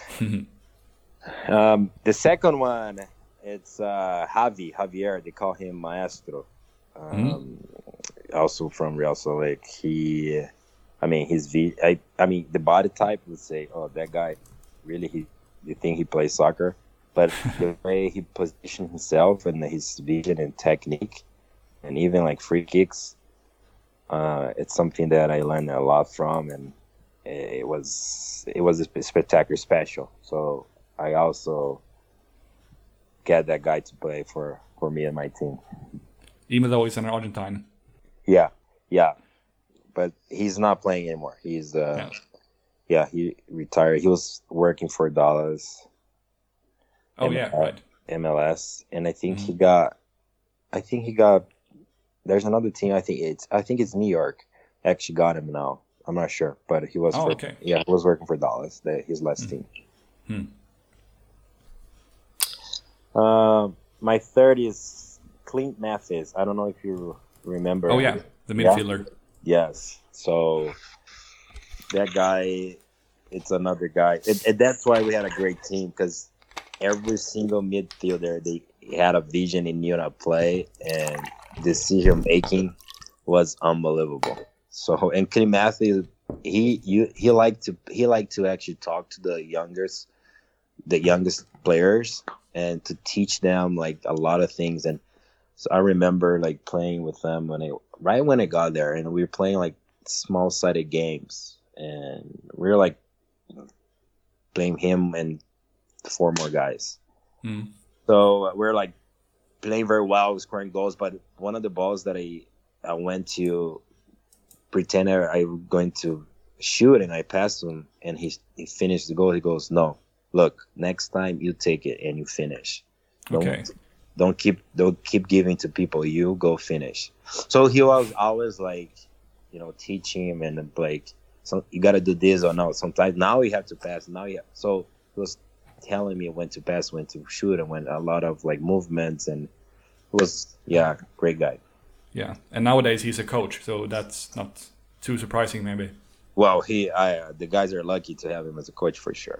S3: um, the second one, it's uh, Javi, Javier. They call him Maestro. Um, mm-hmm. Also from Real Salt Lake. He, I mean, his v. I, I mean, the body type would say, oh, that guy, really, he, you think he plays soccer? But the way he positioned himself and his vision and technique, and even like free kicks. Uh, it's something that I learned a lot from, and it was it was a spectacular special. So I also get that guy to play for, for me and my team.
S1: Even though he's an Argentine.
S3: Yeah, yeah, but he's not playing anymore. He's uh, yeah. yeah, he retired. He was working for Dallas.
S1: Oh M- yeah, right.
S3: M L S, and I think mm-hmm. he got, I think he got. There's another team. I think it's. I think it's New York. Actually, got him now. I'm not sure, but he was.
S1: Oh,
S3: for,
S1: okay.
S3: Yeah, he was working for Dallas. The, his last mm. team.
S1: Hmm.
S3: Um, my third is Clint Mathis. I don't know if you remember.
S1: Oh yeah, the midfielder.
S3: Yeah? Yes. So that guy, it's another guy. It, it, that's why we had a great team, because every single midfielder, they had a vision and knew how to play, and decision making was unbelievable. So, and Clint Mathis, he you he liked to he liked to actually talk to the youngest the youngest players and to teach them like a lot of things. And so I remember like playing with them when I right when I got there, and we were playing like small sided games, and we were like playing him and four more guys.
S1: Mm.
S3: So we're like playing very well, scoring goals. But one of the balls that I I went to pretend I was going to shoot, and I passed him, and he he finished the goal. He goes, "No, look, next time you take it and you finish. Don't,
S1: Okay.
S3: Don't keep don't keep giving to people. You go finish." So he was always like, you know, teaching him and like, so you got to do this or no. Sometimes now you have to pass. Now you have, so he was telling me when to pass, when to shoot, and when a lot of like movements, and it was yeah, great guy.
S1: Yeah, and nowadays he's a coach, so that's not too surprising, maybe.
S3: Well, he, I, uh, the guys are lucky to have him as a coach for sure.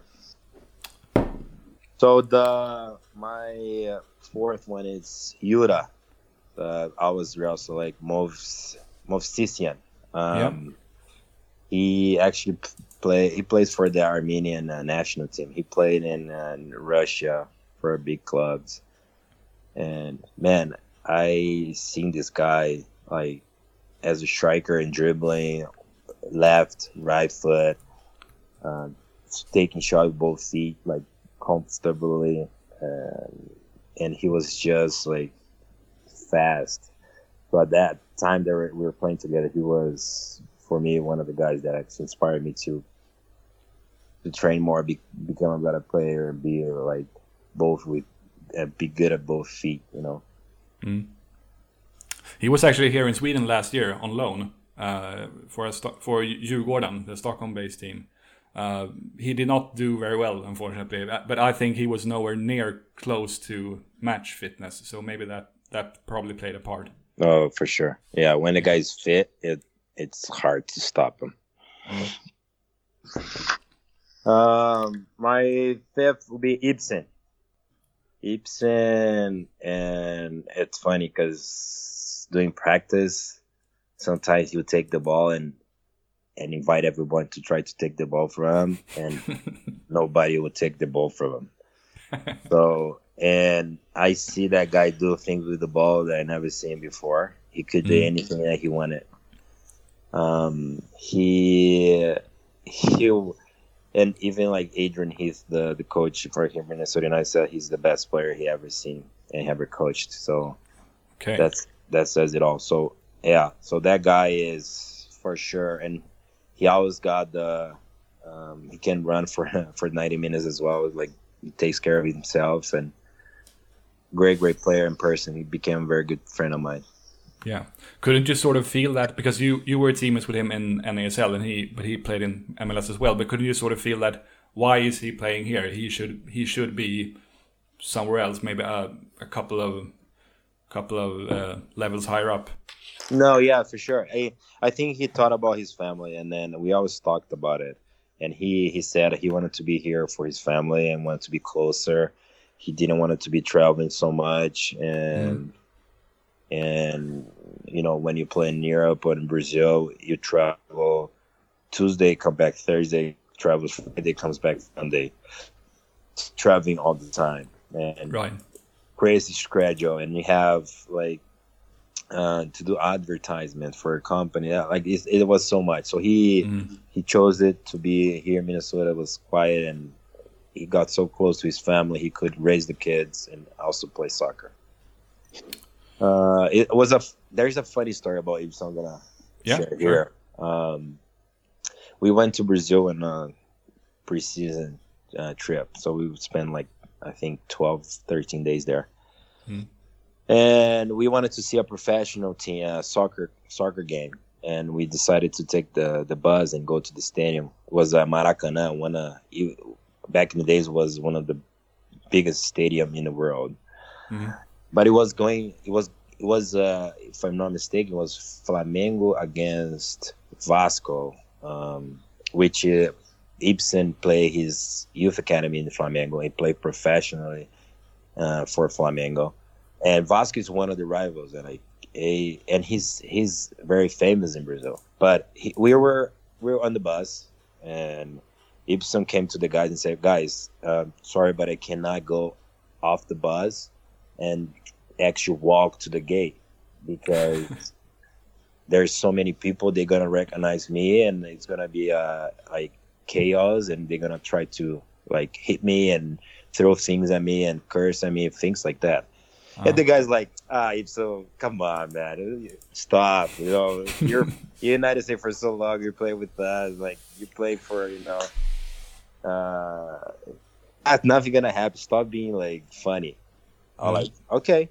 S3: So the my uh, fourth one is Yura. Uh, I was also like Mov Movsisyan. Um,
S1: Yeah.
S3: He actually p- play. He plays for the Armenian uh, national team. He played in, uh, in Russia for big clubs, and man, I seen this guy like as a striker and dribbling left, right foot, uh, taking shot with both feet like comfortably, and, and he was just like fast. So at that time that we were playing together, he was for me one of the guys that actually inspired me to to train more, be, become a better player, and be like both with, uh, be good at both feet, you know.
S1: Mm. He was actually here in Sweden last year on loan uh, for a sto- for Djurgården, the Stockholm-based team. Uh, he did not do very well, unfortunately, but I think he was nowhere near close to match fitness. So maybe that that probably played a part.
S3: Oh, for sure. Yeah, when the guy's fit, it it's hard to stop him. Um, my fifth will be Ibsen. Ibsen, and it's funny because doing practice, sometimes he'll take the ball and and invite everyone to try to take the ball from him, and nobody will take the ball from him. So, and I see that guy do things with the ball that I never seen before. He could do
S1: Mm.
S3: anything that he wanted. Um, he he and even like Adrian Heath, the the coach for him, Minnesota United, said he's the best player he ever seen and ever coached. So
S1: Okay.
S3: that's that says it all. So yeah, so that guy is for sure, and he always got the um, he can run for for ninety minutes as well. Like he takes care of himself, and great great player in person. He became a very good friend of mine.
S1: Yeah. Couldn't you sort of feel that, because you, you were teammates with him in N A S L, and he but he played in M L S as well. But couldn't you sort of feel that, why is he playing here? He should he should be somewhere else, maybe a, a couple of couple of uh, levels higher up.
S3: No, yeah, for sure. I I think he thought about his family, and then we always talked about it. And he he said he wanted to be here for his family and wanted to be closer. He didn't want it to be traveling so much, and. Mm. And, you know, when you play in Europe or in Brazil, you travel Tuesday, come back Thursday, travels Friday, comes back Sunday. Traveling all the time. And
S1: right.
S3: Crazy schedule. And you have, like, uh, to do advertisement for a company. Like, it, it was so much. So he mm. he chose it to be here in Minnesota. It was quiet, and he got so close to his family, he could raise the kids and also play soccer. Uh, it was a. There's a funny story about Ibsen I'm gonna
S1: yeah,
S3: share
S1: sure.
S3: here. Um, we went to Brazil in a preseason uh, trip, so we would spend like I think twelve, thirteen days there, hmm. and we wanted to see a professional team, uh, soccer soccer game, and we decided to take the the bus and go to the stadium. It was uh, Maracanã, one uh, back in the days was one of the biggest stadium in the world. Hmm. but it was going. It was it was uh, if I'm not mistaken, it was Flamengo against Vasco, um, which uh, Ibsen played his youth academy in the Flamengo. He played professionally uh, for Flamengo, and Vasco is one of the rivals, and I. A, and he's he's very famous in Brazil. But he, we were we were on the bus, and Ibsen came to the guys and said, "Guys, uh, sorry, but I cannot go off the bus and actually walk to the gate because there's so many people. They're gonna recognize me, and it's gonna be uh, like chaos, and they're gonna try to like hit me and throw things at me and curse at me, things like that." Oh. And the guy's like, ah, so come on, man, stop. You know, you're you're in the United States for so long. You play with us, like you play for, you know, uh, nothing gonna happen. Stop being like funny. I'm mm. like, okay.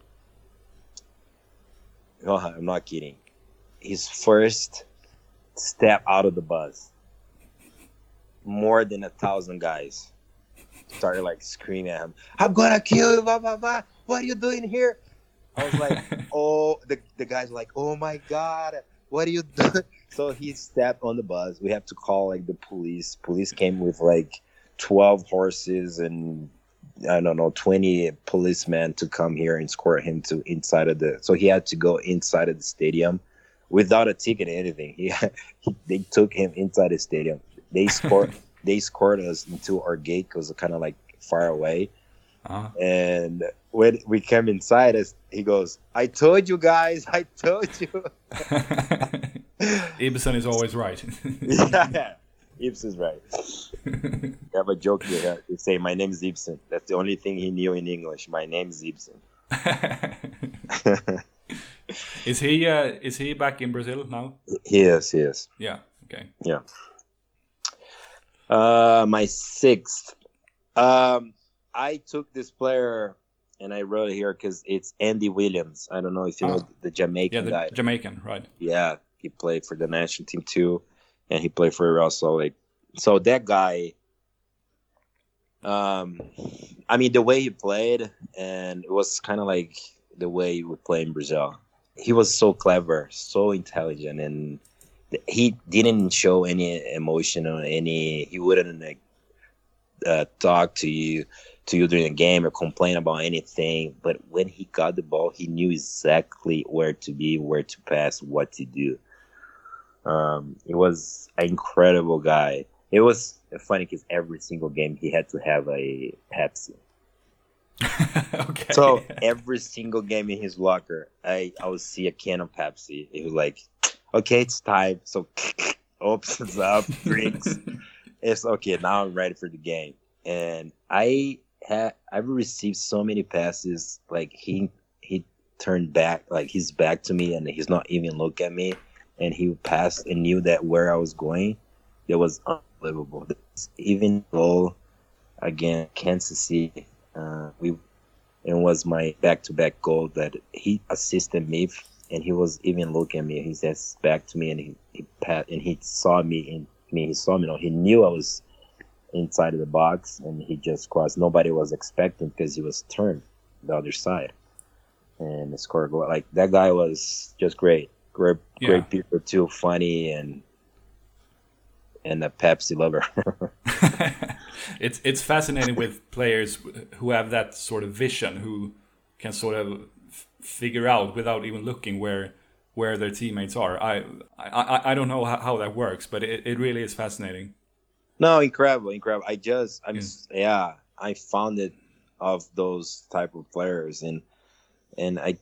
S3: No, I'm not kidding. His first step out of the bus, more than a thousand guys started like screaming at him, "I'm gonna kill you, blah blah blah. What are you doing here?" I was like, oh, the, the guy's like, "Oh my God, what are you doing?" So he stepped on the bus. We have to call like the police. Police came with like twelve horses and I don't know, twenty policemen to come here and escort him to inside of the, so he had to go inside of the stadium without a ticket or anything. He, he they took him inside the stadium. They escort, they escort us into our gate because it's kind of like far away. Uh-huh. And when we came inside, us, he goes, "I told you guys, I told you."
S1: Ibsen is always right.
S3: Yeah, Ibsen's right. I have a joke here. They say, "My name is Ibsen." That's the only thing he knew in English. My name is Ibsen.
S1: Is he? Uh, is he back in Brazil now?
S3: He is. He is.
S1: Yeah. Okay.
S3: Yeah. Uh, my sixth. Um. I took this player, and I wrote it here because it's Andy Williams. I don't know if you oh. know the Jamaican
S1: yeah, the
S3: guy.
S1: Jamaican, right?
S3: Yeah, he played for the national team too, and he played for Real Salt Lake. So that guy, um, I mean, the way he played, and it was kind of like the way he would play in Brazil. He was so clever, so intelligent, and he didn't show any emotion or any. He wouldn't like uh, talk to you. to you during the game or complain about anything, but when he got the ball, he knew exactly where to be, where to pass, what to do. Um, he was an incredible guy. It was funny because every single game he had to have a Pepsi.
S1: Okay.
S3: So every single game in his locker, I, I would see a can of Pepsi. He was like, "Okay, it's time." So opens up, drinks. It's okay. Now I'm ready for the game. And I had I've received so many passes. Like he he turned back, like his back to me, and he's not even look at me. And he passed and knew that where I was going. It was unbelievable. Even though again Kansas City, uh, we it was my back-to-back goal that he assisted me, and he was even looking at me. He says back to me, and he he passed, and he saw me in me. He saw me. You know, he knew I was inside of the box, and he just crossed. Nobody was expecting because he was turned the other side and scored a goal. Like that guy was just great, great, yeah. great people too, funny and and a Pepsi lover.
S1: it's it's fascinating with players who have that sort of vision, who can sort of f- figure out without even looking where where their teammates are. I I I don't know how, how that works, but it, it really is fascinating.
S3: No, incredible, incredible. I just, I'm, yeah. yeah, I found it of those type of players, and and I,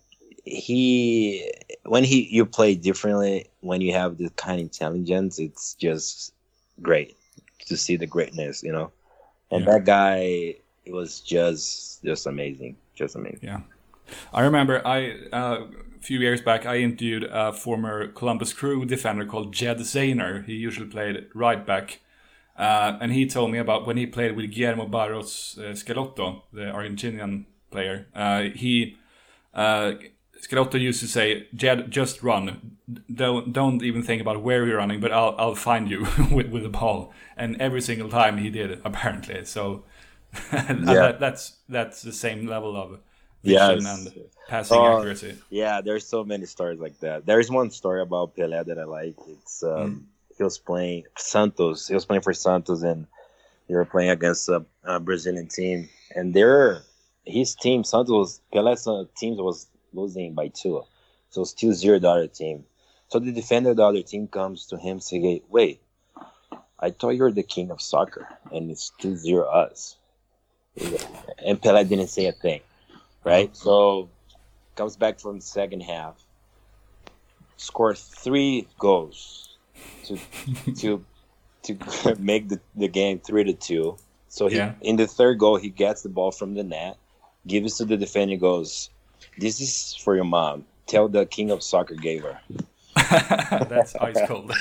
S3: he, when he, you play differently, when you have this kind of intelligence, it's just great to see the greatness, you know. And yeah. that guy, it was just, just amazing, just amazing.
S1: Yeah, I remember I uh, a few years back I interviewed a former Columbus Crew defender called Jed Zayner. He usually played right back. Uh, and he told me about when he played with Guillermo Barros uh, Schelotto, the Argentinian player. Uh, he uh, Schelotto used to say, "Jed, just run. Don't don't even think about where you're running, but I'll I'll find you with with the ball." And every single time he did, apparently. So yeah. that, that's that's the same level of vision
S3: Yes.
S1: and passing
S3: Oh,
S1: accuracy.
S3: Yeah, there's so many stories like that. There's one story about Pelé that I like. It's um,
S1: Mm.
S3: he was playing Santos. He was playing for Santos, and they were playing against a, a Brazilian team. And their his team, Santos, was, Pelé's uh, team was losing by two, so it's two zero the other team. So the defender of the other team comes to him saying, "Wait, I thought you were the king of soccer, and it's two zero us." And Pelé didn't say a thing, right? So comes back from the second half, score three goals to to to make the, the game three to two. So he,
S1: Yeah.
S3: in the third goal, he gets the ball from the net, gives it to the defender, goes, "This is for your mom. Tell the king of soccer gave her."
S1: That's ice cold.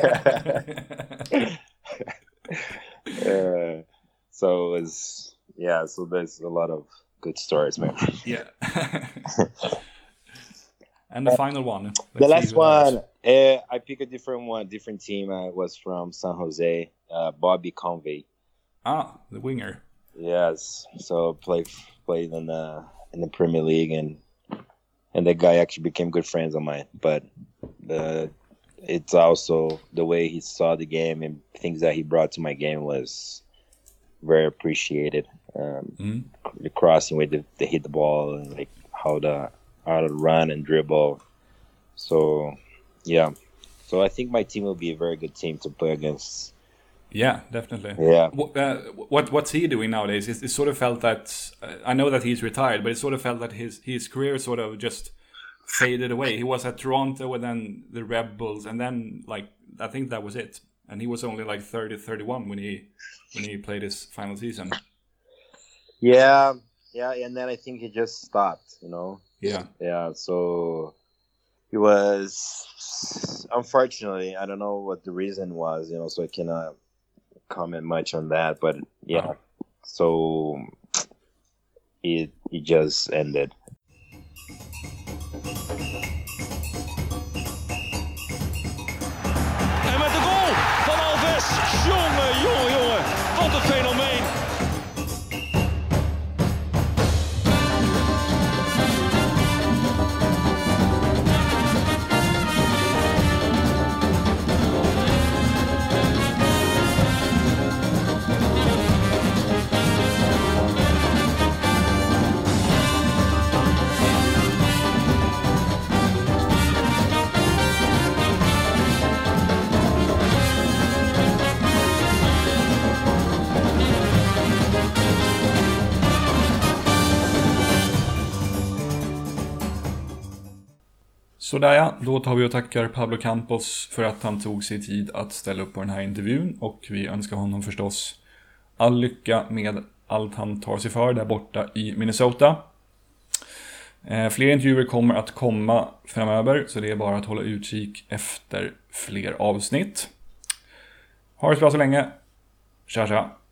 S3: uh, so it's yeah. So there's a lot of good stories, man.
S1: Yeah. And the final one. Let's
S3: The
S1: see
S3: last
S1: who that is.
S3: one, uh, I pick a different one, different team. I was from San Jose, uh, Bobby Convey.
S1: Ah, the winger.
S3: Yes, so played played in the in the Premier League, and and that guy actually became good friends of mine. But the it's also the way he saw the game and things that he brought to my game was very appreciated. Um,
S1: Mm.
S3: The crossing way they, they hit the ball and like how to how to run and dribble. So yeah, so I think my team will be a very good team to play against.
S1: Yeah, definitely.
S3: Yeah.
S1: What, uh, what what's he doing nowadays? It, it sort of felt that uh, I know that he's retired, but it sort of felt that his his career sort of just faded away. He was at Toronto and then the Red Bulls, and then like I think that was it. And he was only like thirty, thirty-one when he when he played his final season.
S3: Yeah, yeah, and then I think he just stopped. You know.
S1: Yeah.
S3: Yeah. So he was unfortunately, I don't know what the reason was. You know, so I cannot comment much on that, but yeah,
S1: Oh.
S3: so it it just ended.
S2: En met de goal van Alves. Jongen, jongen, jongen. Wat een fenomeen.
S1: Sådär ja, då tar vi och tackar Pablo Campos för att han tog sig tid att ställa upp på den här intervjun. Och vi önskar honom förstås all lycka med allt han tar sig för där borta i Minnesota. Eh, fler intervjuer kommer att komma framöver, så det är bara att hålla utkik efter fler avsnitt. Ha det så bra så länge. Tja tja.